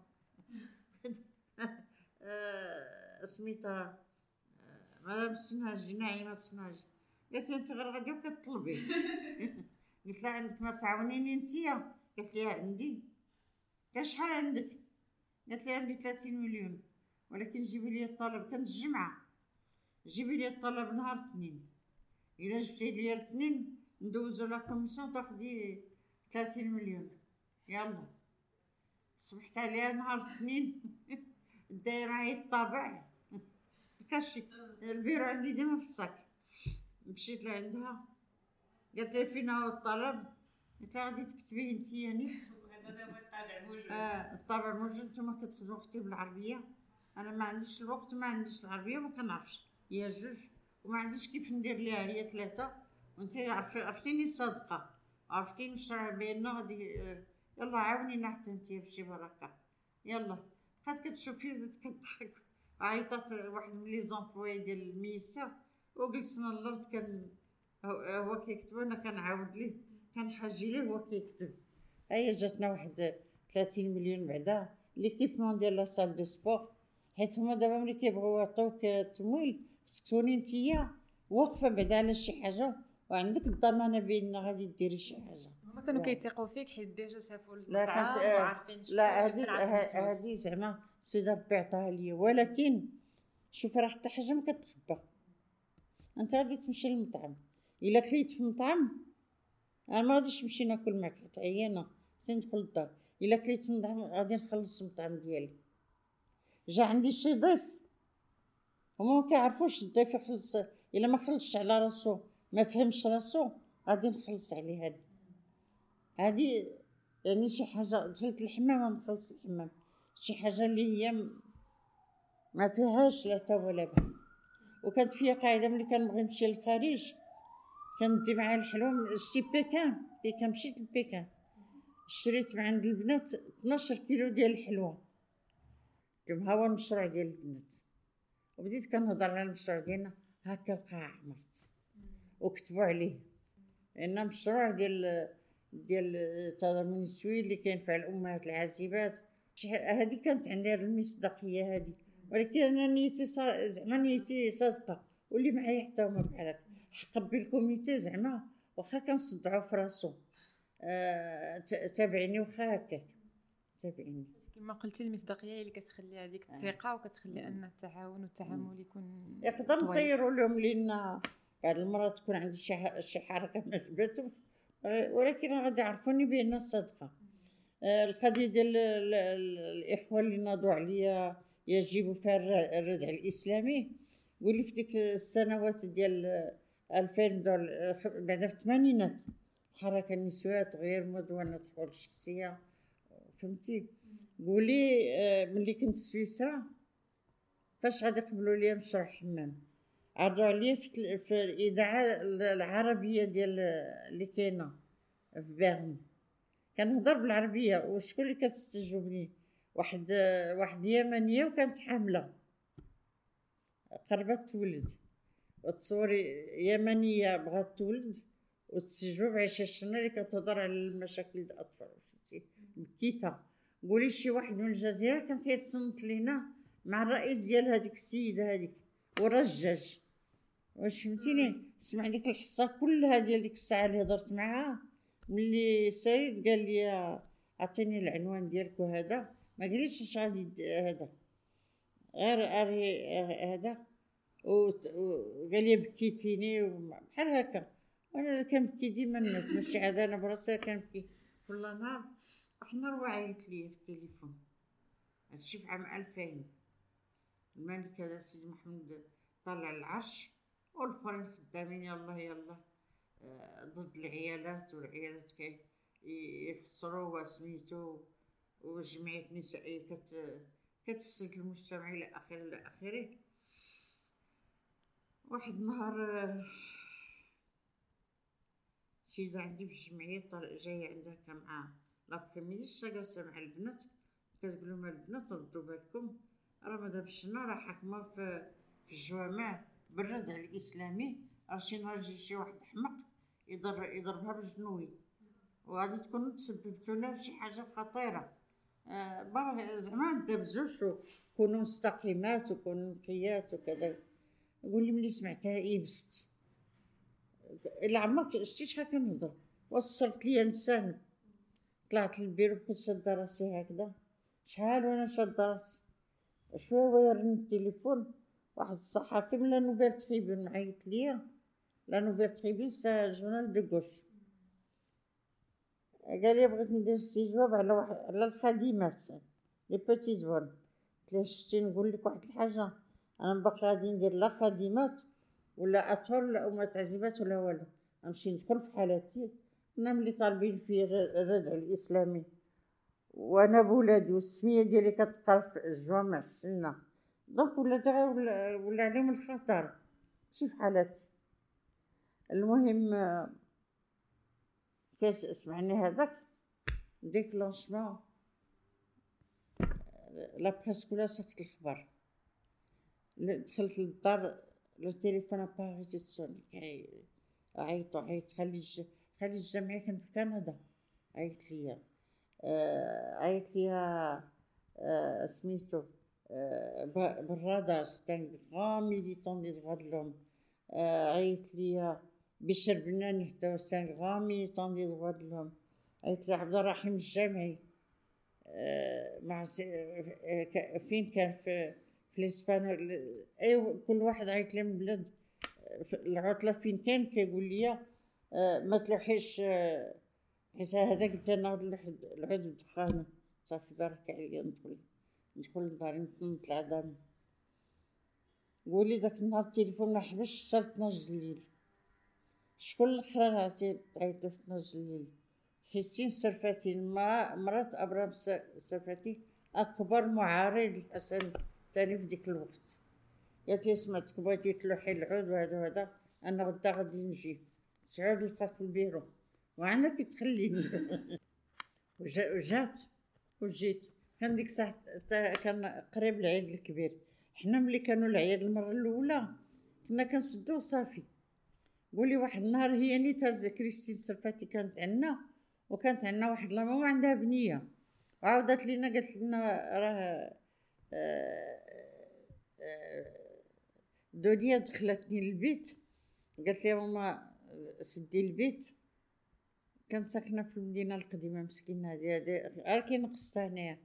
B: سميتها مدام السنهاجي، نعيمه السنهاجي. قالت لي انت غير غادي وكتطلبي قلت لها عندك ما تعاونيني نتيا؟ قالت لي عندي. قالت شحال عندك؟ قالت لي عندي 30 مليون، ولكن جيبي لي الطلب. كانت الجمعه، جيبي لي الطلب نهار الاثنين، الا جبتي لي الاثنين ندوزو لا كوميسيون تاخدي 30 مليون. يلا صبحت عليها نهار الاثنين داير معايا الطابع كاشي البيرو عندي ديما في الصاك. مشيت لعندها قالت لي فين هو الطلب؟ قلت لها غادي تكتبيه انتيا نيت.
A: هذا هو الطابع موجود.
B: الطابع موجود. نتوما كتخدموا اختي بالعربيه، انا ما عنديش الوقت وما عنديش العربيه وما كنعرفش، هي جوج وما عنديش كيف ندير ليها هي ثلاثه. وانت عرفتيني صادقه، عرفتيني المشروع بيننا غادي. يلا عاونينا حتى انتي بشي بركه. يلا بقات كتشوفي بدات كتضحك. عيطات واحد من لي زومبلوي ديال الميسا وجلسنا الارض هو كيكتب وانا كنعاود ليه، كنحاجي ليه هو كيكتب. هي جاتنا واحد 30 مليون بعدا ليكيبمون ديال لا سال دو سبور، حيت هما دابا ملي كيبغيو يعطيوك التمويل خصك تكوني نتيا واقفه بعدا على شي حاجه وعندك الضمانه بان غادي ديري شي حاجه.
A: هما كانوا كيثيقوا فيك حيت ديجا شافوا المطعم وعارفين شكون.
B: لا هذه زعما سيدي ربي عطاها ليا، ولكن شوف راه حتى حاجه ما كتخبى. انت غادي تمشي للمطعم، الا كليت في المطعم انا ما غاديش نمشي ناكل معك حيت عيانه ندخل للدار. الا كليت في المطعم غادي نخلص المطعم ديالي. جا عندي شي ضيف هما ما كيعرفوش الضيف يخلص، الا ما خلصش على راسو ما فهمش راسو غادي نخلص عليه. هذه يعني شي حاجه دخلت الحمام نخلص الحمام، شي حاجه اللي هي ما فيهاش لا تا ولا با. وكانت فيها قاعده ملي كنبغي نمشي للخارج كندي معايا الحلوى. شتي بيكان بيكان، مشيت لبيكان شريت من عند البنات 12 كيلو ديال الحلوى. قلت لهم ها هو المشروع ديال البنات، وبديت كنهضر على المشروع ديالنا. هكا القاع عمرت وكتبوا عليه لان مشروع ديال التضامن النسوي اللي كينفع الامهات العازبات. هذه كانت عندها المصداقيه هذه، ولكن انا نيتي زعما نيتي صادقه، واللي معايا حتى هما بحال هكا. حق بالكوميتي زعما واخا كنصدعوا في راسو تابعني واخا هكاك تابعني.
A: كما قلتي المصداقيه اللي كتخلي هذيك الثقه وكتخلي ان التعاون والتعامل يكون
B: يقدر نطيروا لهم لان بعض المرات تكون عندي شي حركه ما عجبتهمش، ولكن غادي يعرفوني بان صادقه. القضيه ديال الاخوه اللي ناضوا عليا يجب فيها الردع الاسلامي، قولي في ديك السنوات ديال 2000 بعد في الثمانينات الحركه النسويه تغيير مدونه تحول الشخصيه، فهمتي؟ قولي ملي كنت في سويسرا فاش غادي يقبلوا لي مشروع حمام، عرضوا عليا في الاذاعه العربيه ديال اللي كاينه في بيرن، كنهضر بالعربيه وشكون اللي كتستجوبني؟ واحد يمنيه وكانت حامله قربت تولد، وتصوري يمنيه بغات تولد وتستجوب عايشه الشنا اللي كتهضر على المشاكل ديال الاطفال، فهمتي؟ بكيتها. قولي شي واحد من الجزيره كان كيتصنت لينا مع الرئيس ديال هذيك السيده هذيك ورجاج، واش فهمتيني؟ سمع ديك الحصه كلها ديال ديك الساعه اللي هضرت معاها. ملي ساليت قال لي عطيني العنوان ديالك وهذا، ما قاليش اش غادي هذا غير هذا، وقال لي بكيتيني بحال هكا. وانا كنبكي ديما الناس ماشي عاد انا براسي كنبكي كل نهار. واحد النهار عيط لي في التليفون، هادشي في عام 2000، الملك هذا سيدي محمد طلع العرش والاخرين خدامين يلا ضد العيالات، والعيالات يخسروا وسميتو، وجمعية نسائية كتفسد المجتمع الى اخره. واحد النهار سيدة عندي في الجمعية جاية عندها مع لابخيميدي جالسة مع البنات، كتقول لهم البنات ردوا بالكم راه مادام الشنا راه حاكمة في الجوامع بالردع الاسلامي، راه شي نهار يجي شي واحد حمق يضربها بالجنوي وغادي تكونوا تسببتوا لها بشي حاجه خطيره. زعما ندابزوش وكونوا مستقيمات وكونوا نقيات وكذا. يقول لي ملي سمعتها يبست، الا عمرك شتي شحال كنهضر، وصلت ليا لسان. طلعت للبيرو كنت شاده راسي هكذا، شحال وانا شاده راسي، شويه ويرن التليفون واحد الصحافي من لا نوفيل تريبيون عيط ليا. لا نوفيل تريبيون سا جورنال دو غوش، قال لي بغيت ندير استجواب على الخادمات لي بوتي زوان. قلت له شتي نقول لك واحد الحاجه، انا باقي غادي ندير لا خادمات ولا اطفال ولا امهات عزيبات ولا والو، نمشي ندخل في حالاتي انا ملي طالبين في الردع الاسلامي وانا بولادي والسميه ديالي كتقرا في الجوامع السنه، دونك ولا عليهم الخطر ماشي في حالاتي. المهم كاس سمعني هذاك ديكلونشمون لا بريس كلها ساكت الخبر. دخلت للدار لو تليفون اباريتي تصوني، عيط خلي الجمعيه كان في كندا. عيط ليا سميتو بالرادار ستان غران ميليتون دي droits de l'homme. عيط ليا بشر بناني حتى ستان غران ميليتون دي droits de l'homme. عيط لي عبد الرحيم الجامعي مع فين كان في الاسبان. ايوا كل واحد عيط لي من بلاد العطله فين كان كيقول لي ما تلوحيش حيت هذا قلت انا العود الدخان صافي بارك عليا ندخل لداري نطلع دامي. قولي داك النهار التليفون ما حبسش حتى 12 الليل. شكون الاخرى عيط له 12 الليل؟ حسين السرفاتي مرات ابرام السرفاتي اكبر معارض للحسن الثاني في ديك الوقت. قالت لي سمعتك بغيتي تلوحي العود وهذا انا غدا غادي نجي. سعود لقاك في البيرو وعندك تخليني. وجيت كان ديك الساعه كان قريب العيد الكبير. حنا ملي كانوا العيد المره الاولى كنا كنسدو صافي. قولي واحد النهار هي نيتا كريستين سرفاتي كانت عندنا، وكانت عندنا واحد لا ماما عندها بنيه، وعاودت لينا قالت لنا راه دنيا دخلتني للبيت، قالت لي ماما سدي البيت. كانت ساكنه في المدينه القديمه مسكينه هذه كي نقصتها هنايا.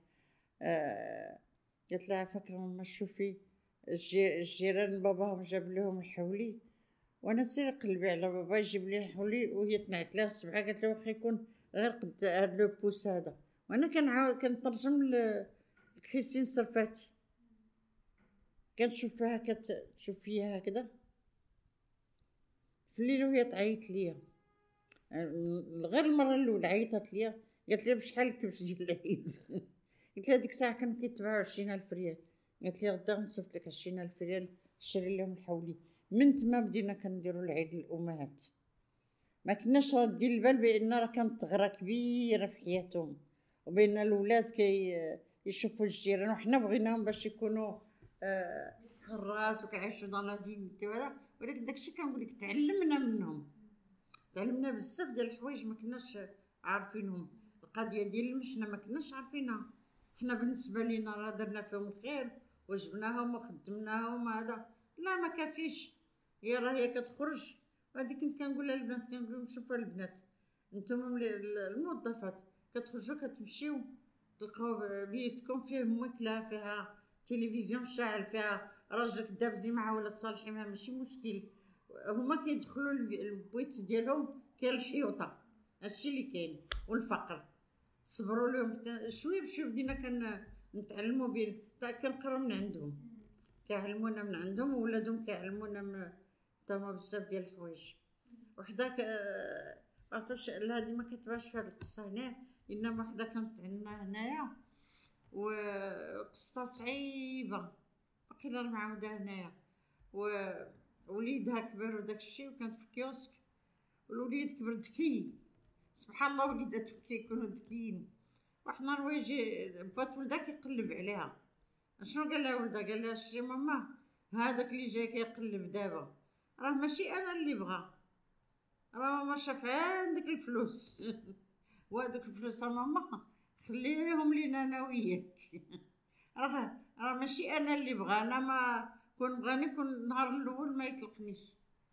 B: قالت لها فاكره ماما شوفي الجيران باباهم جاب لهم الحولي، وانا سير قلبي على بابا يجيب لي الحولي، وهي تنعت لها السبعه قالت له واخا يكون غير قد هاد لو بوس هذا. وانا كنترجم لكريستين سرفاتي، كنشوف فيها كتشوف فيها هكذا في الليل وهي تعيط ليا. غير المره الاولى عيطت ليا قالت لي بشحال الكبش ديال العيد. قلت لها ديك الساعه كانوا كيتباعوا 20,000 ريال. قالت لي غدا نصيفط لك 20,000 ريال شري لهم الحولي. من تما بدينا كنديروا العيد للامهات، ما كناش رادين البال بان راه كانت ثغره كبيره في حياتهم، وبين الاولاد يشوفوا الجيران، وحنا بغيناهم باش يكونوا حرات وكيعيشوا dans la dignité وهذا. ولكن داكشي كنقول لك تعلمنا منهم، تعلمنا بزاف ديال الحوايج ما كناش عارفينهم. القضيه ديال المحنه ما كناش عارفينها، حنا بالنسبه لينا راه درنا فيهم الخير وجبناهم وخدمناهم هذا. لا ما كافيش، هي راه هي كتخرج. هذه كنت كنقولها للبنات، كنقول لهم شوفوا البنات نتوما الموظفات كتخرجوا كتمشيو تلقاو بيتكم فيه ماكله، فيها تلفزيون شاعل، فيها راجلك دابزي معاه ولا تصالحي معاه ماشي مشكل. هما كيدخلوا البيت ديالهم كاين الحيوطه، هادشي اللي كاين، والفقر. صبروا لهم شويه بشويه بدينا نتعلموا بين كنقراو من عندهم، كيعلمونا من عندهم، وولادهم كيعلمونا تما بزاف ديال الحوايج. وحده عرفتوش هذه ما كتبانش في هاد القصه هنا، انما وحده كانت عندنا هنايا وقصه صعيبه باقي معاوده هنايا. ووليدها كبر وداك الشيء، وكانت في كيوسك، والوليد كبر ذكي سبحان الله. وليدات كيكونوا ذكيين. واحد النهار يجي بات ولدها كيقلب عليها، شنو قال لها ولدها؟ قال لها شتي ماما هذاك اللي جاي كيقلب دابا راه ماشي انا اللي بغا، راه ماما شاف عندك الفلوس. وهذوك الفلوس ماما خليهم لينا انا وياك. راه ماشي انا اللي بغا، انا ما كون بغاني كون النهار الاول ما يطلقنيش.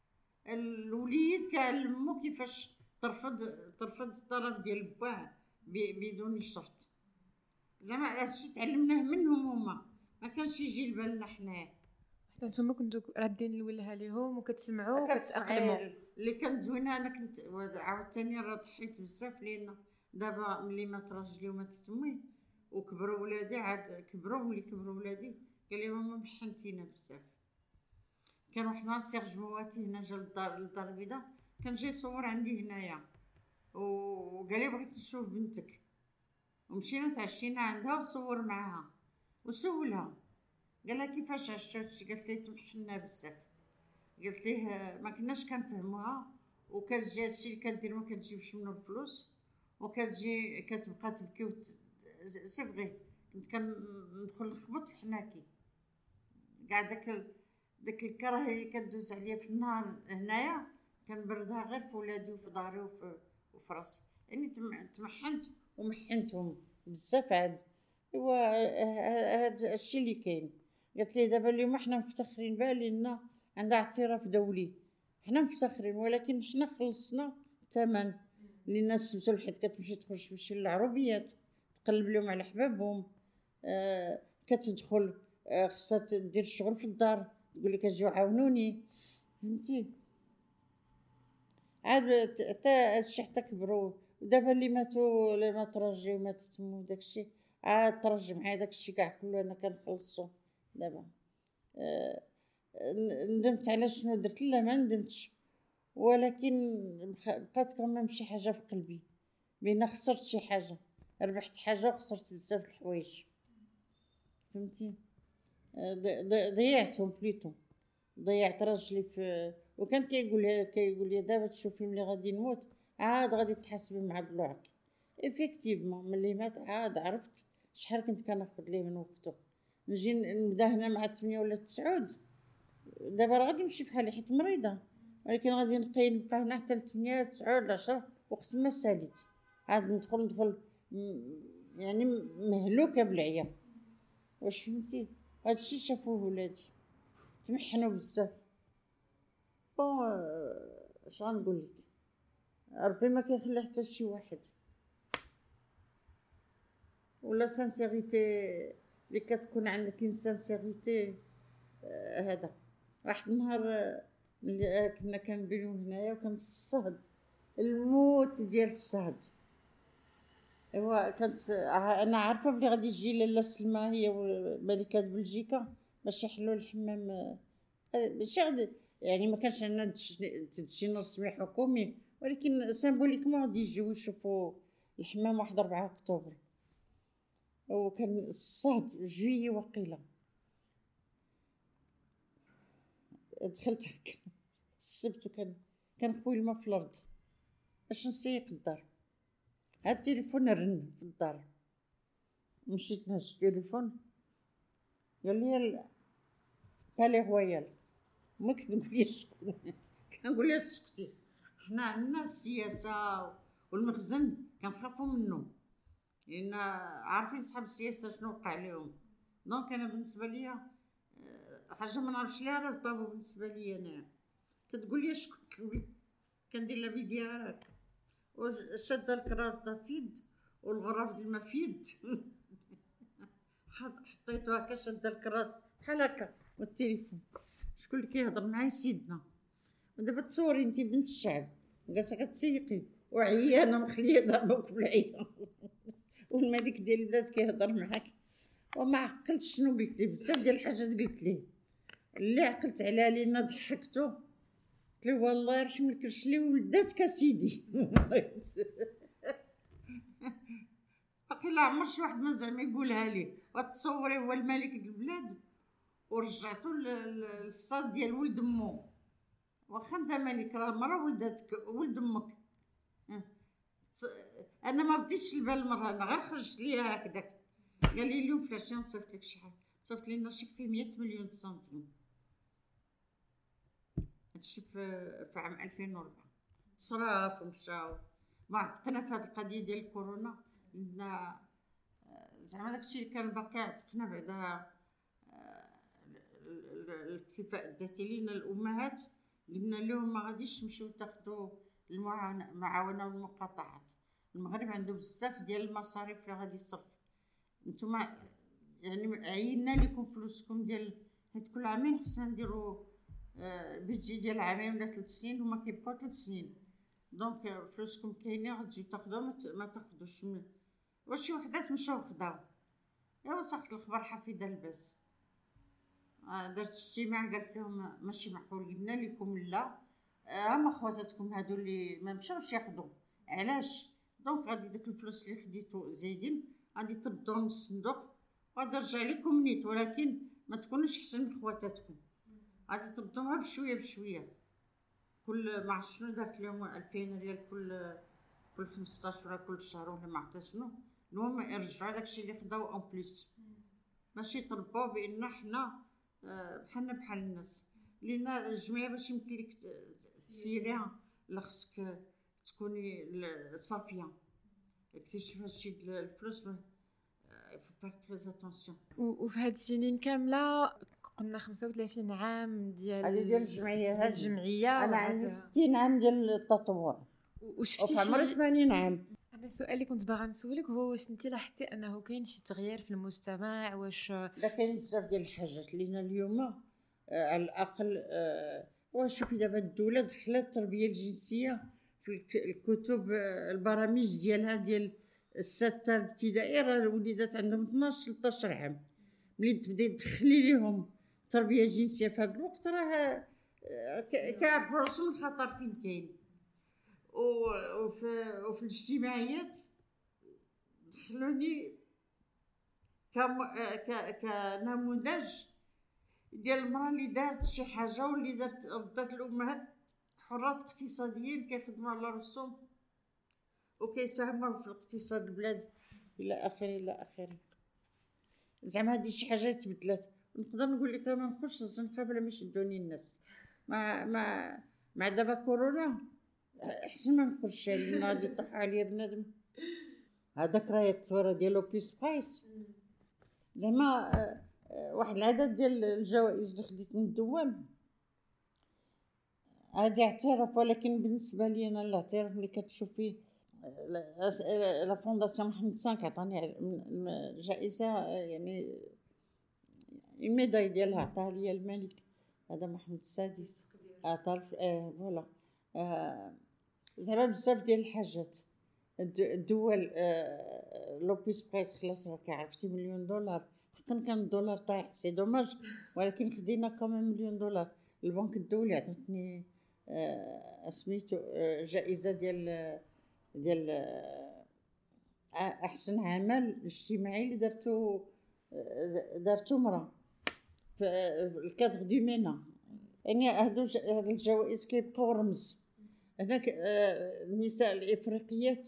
B: الوليد كيعلمو كيفاش ترفض الطلب ديال باه بدون شرط. زعما هادشي تعلمناه منهم هما، ما كانش يجي لبالنا حنايا.
A: حتى نتوما كنتو رادين الولها ليهم وكتسمعوا وكتاقلموا.
B: اللي كانت زوينه انا كنت عاوتاني راه ضحيت بزاف، لان دابا ملي مات راجلي وماتت تمي وكبروا ولادي، عاد ملي كبروا ولادي قال لي ماما محنتينا بزاف. كان واحد النهار سيرج مواتي هنا جا للدار البيضاء، كان جاي يصور عندي هنايا، وقال لي بغيت نشوف بنتك. ومشينا تعشينا عندها وصور معاها وسولها، قال لها كيفاش عشتي هادشي؟ قالت ليه تمحنا بزاف. قلت ليه ما كناش كنفهموها، وكتجي هادشي اللي كدير ما كتجيبش منه الفلوس، وكتجي كتبقى تبكي سي فغي. كنت كندخل نخبط في حناكي كاع داك الكراهيه اللي كدوز عليا في النهار هنايا كنبردها غير في ولادي وفي داري وفي راسي. يعني تمحنت ومحنتهم بزاف عاد. ايوا هذا الشيء اللي كاين. قالت لي دابا اليوم حنا مفتخرين بها لان عندها اعتراف دولي، حنا مفتخرين، ولكن حنا خلصنا الثمن للناس سبتو الحيط. كتمشي تمشي للعربيات تقلب لهم على حبابهم، كتدخل خصها دير الشغل في الدار تقول لك اجيو عاونوني، فهمتي؟ عاد حتى هادشي حتى كبروا. ودابا اللي ماتوا اللي مات راجلي وماتت تمو داكشي عاد طرج معايا داكشي كاع كله انا كنخلصو دابا. ندمت على شنو درت؟ لا ما ندمتش، ولكن بقات كمان شي حاجه في قلبي بين خسرت شي حاجه، ربحت حاجه وخسرت بزاف الحوايج، فهمتي؟ ضيعتهم بليتو. ضيعت راجلي في، وكان كيقول لي دابا تشوفي ملي غادي نموت عاد غادي تحاسبي مع دلوعك. ايفيكتيفمون ملي مات عاد عرفت شحال كنت كناخد ليه من وقته. نجي نبدا هنا مع 8 ولا 9. دابا راه غادي نمشي بحالي حيت مريضه، ولكن غادي نبقى هنا حتى 8 9 ولا 10 وقت ما ساليت. عاد ندخل يعني مهلوكه بالعيا. واش فهمتي؟ هادشي شافوه ولادي تمحنوا بزاف. بون اش غنقول لك، ربي ما كيخلي حتى شي واحد. ولا سانسيريتي اللي كتكون عندك سانسيريتي. هذا واحد النهار ملي كنا كنبينو هنايا وكان الصهد الموت ديال الصهد. ايوا كانت انا عارفه بلي غادي تجي لاله سلمى هي ملكه بلجيكا باش يحلوا الحمام. ماشي غادي يعني ما كانش عندنا تدشين رسمي حكومي، ولكن سيمبوليكمون غادي يجيو يشوفوا الحمام واحد 4 اكتوبر. وكان الصهد جويي وقيله. دخلت هكا السبت كان خويا الماء في الارض باش نسيق الدار. هاد التليفون رن في الدار، مشيت نهز التليفون قال لي بالي رويال. ما كنقول لي شكون كنقول لها سكتي، حنا عندنا السياسه والمخزن كنخافوا منه لان عارفين صحاب السياسه شنو وقع لهم. دونك انا بالنسبه ليا حاجه ما نعرفش ليها راه طابو بالنسبه ليا انا. كتقول لي شكون كندير لا فيديو هكا وشاده الكرافطه في يد والغرف ديال ما في يد حطيتو هكا شاده الكرافطه بحال هكا والتليفون. شكون اللي كيهضر معايا؟ سيدنا. ودابا تصوري انت بنت الشعب جالسه كتسيقي وعيانه مخليه ضربوك بالعيا والملك ديال البلاد كيهضر معاك. وما عقلتش شنو قلت ليه، بزاف ديال الحاجات قلت ليه. اللي عقلت عليها لينا ضحكتو، قلت له والله يرحم لك رشلي ولداتك اسيدي باقي لا عمر شي واحد ما زعما يقولها لي. وتصوري هو الملك ديال البلاد ورجعتو للصاد ديال ولد امو. واخا انت ملك راه المراه ولداتك ولد امك. انا ما رديتش البال المره، انا غير خرجت ليها هكذاك. قال لي اليوم فلاش نصيفط لك شي حاجه، صيفط لنا شيك فيه 100 مليون سنتيم. هادشي في عام 2004 تصرف ومشاو. ما عتقنا في هاد القضيه ديال الكورونا لان زعما داكشي اللي كان باقي عتقنا بعدا الاكتفاء الذاتي لينا الامهات. قلنا لهم ما غاديش تمشيو تاخذوا المعاونه والمقاطعات. المغرب عنده بزاف ديال المصاريف اللي غادي يصرف. نتوما يعني عينا لكم فلوسكم ديال حيت كل عامين خصنا نديروا بيدجي ديال عامين ولا 3 سنين. هما كيبقاو 3 سنين. دونك فلوسكم كاينين غتجيو تاخذوا ما تاخذوش. واش شي وحدات مشاو خداو. ايوا ساقط الخبر حفيده الباس. درت اجتماع قالت لهم ماشي معقول، قلنا لكم لا هما خواتاتكم هادو اللي ما مشاوش ياخذوا علاش. دونك غادي داك الفلوس اللي خديتو زايدين غادي تردوهم من الصندوق وغادي نرجع لكم نيت، ولكن ما تكونوش احسن من خواتاتكم. غادي تردوها بشويه بشويه. كل ما عرفت شنو دارت لهم 2000 ريال كل 15 ولا كل شهر ولا ما عرفت شنو. المهم يرجعوا داكشي اللي خداو اون بليس، ماشي طلبوا بان حنا بحالنا بحال الناس. لان الجمعيه باش يمكن لك تسيريها لا خصك تكوني صافيه. اكتشف هادشي ديال الفلوس فاك تريز اتونسيون.
A: وفي هاد السنين كامله قلنا 35 عام ديال
B: هذه ديال الجمعيه.
A: هاد الجمعيه
B: انا عندي 60 عام ديال التطوع
A: وشفتي
B: عمري 80 عام.
A: انا السؤال اللي كنت باغا نسولك هو واش انت لاحظتي انه كاين شي تغيير في المجتمع؟ واش
B: لا كاين بزاف ديال الحاجات لينا اليوم على الاقل. وشوفي دابا الدوله دخلت التربيه الجنسيه في الكتب البرامج ديالها ديال السته الابتدائي. راه الوليدات عندهم 12 13 عام ملي تبداي تدخلي ليهم التربيه الجنسيه في هذا الوقت راه كيعرفوا راسهم الخطر فين كاين. وفي الاجتماعيات دخلوني كنموذج ديال المراه اللي دارت شي حاجه واللي ردات الامهات حرات اقتصاديين كيخدموا على راسهم وكيساهموا في الاقتصاد البلاد الى اخره الى اخره. زعما هادي شي حاجه تبدلات. نقدر نقول لك انا نخش الزنقه بلا ما يشدوني الناس. ما مع دابا كورونا احسن ما نخرجش لان غادي يطيح عليا بنادم. هذاك راه التصويره ديالو بيس بايس زعما واحد العدد ديال الجوائز اللي خديت من الدوام هادي اعتراف. ولكن بالنسبه لي انا الاعتراف اللي كتشوف فيه لا فونداسيون محمد V عطاني جائزه يعني الميداي ديالها عطاها لي الملك هذا محمد السادس. عطاف فوالا زعما بزاف ديال الحاجات. الدول لوبيس برايس خلاص راك عرفتي $1,000,000 حقا كان الدولار طايح سي دوماج ولكن خدينا كمان $1,000,000. البنك الدولي عطاتني سميتو جائزه ديال احسن عمل اجتماعي اللي دارتو مرا في الكادر دو مينا. يعني هادو الجوائز كيبقاو رمز. هناك النساء الافريقيات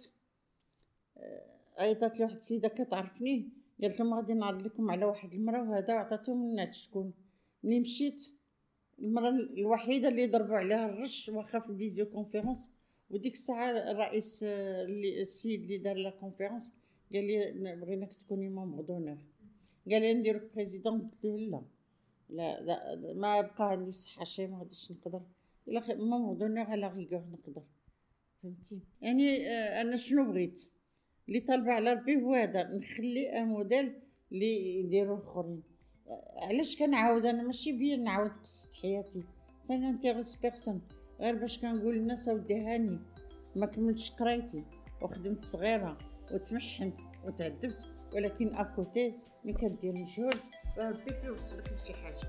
B: عيطات لي واحد السيده كتعرفني قالت لهم غادي نعرض لكم على واحد المراه وهذا عطاتهم من شكون. ملي مشيت المراه الوحيده اللي ضربوا عليها الرش واخا في الفيديو كونفيرونس. وديك الساعه الرئيس السيد اللي دار لا كونفيرونس قال لي بغيناك تكوني مامبر دونور. قال لي نديرك بريزيدون. قلت له لا ما بقى عندي الصحه شي ما غاديش نقدر الا مامبر دونور على غيغور نقدر فهمتي. يعني انا شنو بغيت اللي طالبه على ربي هو هذا نخلي موديل اللي يديروا اخرين. علاش كنعاود انا ماشي بيا نعاود قصه حياتي ثاني انتيغوس بيرسون غير باش كنقول للناس اودي هاني ما كملتش قرايتي وخدمت صغيره وتمحنت وتعذبت ولكن اكوتي ملي كدير مجهود ربي كيوصلك لشي حاجه.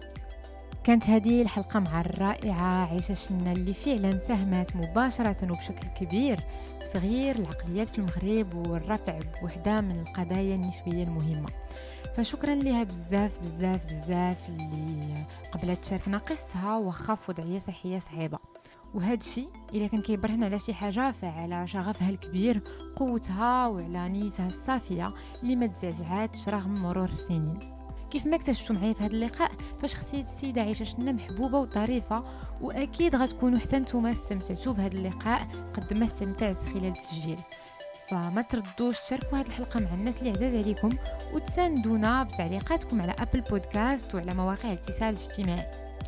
A: كانت هذه الحلقة مع الرائعة عيشة شنا اللي فعلا ساهمت مباشرة وبشكل كبير في تغيير العقليات في المغرب والرفع بوحدة من القضايا النسوية المهمة. فشكرا لها بزاف بزاف بزاف اللي قبلت تشاركنا قصتها وخاف وضعية صحية صعيبة. وهذا الشيء إذا كان كيبرهن على شي حاجة فعلى شغفها الكبير قوتها وعلى نيتها الصافية اللي ما تزعزعاتش رغم مرور السنين. كيف ما اكتشفتوا معايا في هذا اللقاء فاش خصيت السيده عيشه شنا محبوبه وظريفه واكيد غتكونوا حتى نتوما استمتعتوا بهذا اللقاء قد ما استمتعت خلال التسجيل. فما تردوش تشاركوا هذه الحلقه مع الناس اللي عزاز عليكم وتساندونا بتعليقاتكم على ابل بودكاست وعلى مواقع الاتصال الاجتماعي.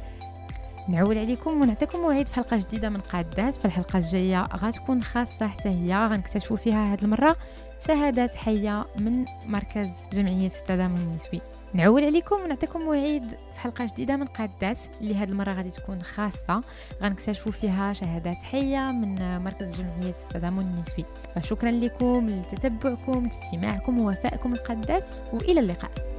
A: نعول عليكم ونعطيكم موعد في حلقه جديده من قادات. في الحلقه الجايه غتكون خاصه حتى هي غنكتشفوا فيها هذه المره شهادات حيه من مركز جمعيه التضامن النسوي. نعول عليكم ونعطيكم موعد في حلقه جديده من قادات اللي هذه المره غادي تكون خاصه غنكتشفوا فيها شهادات حيه من مركز جمعيه التضامن النسوي. فشكرا لكم لتتبعكم لاستماعكم ووفائكم القادات والى اللقاء.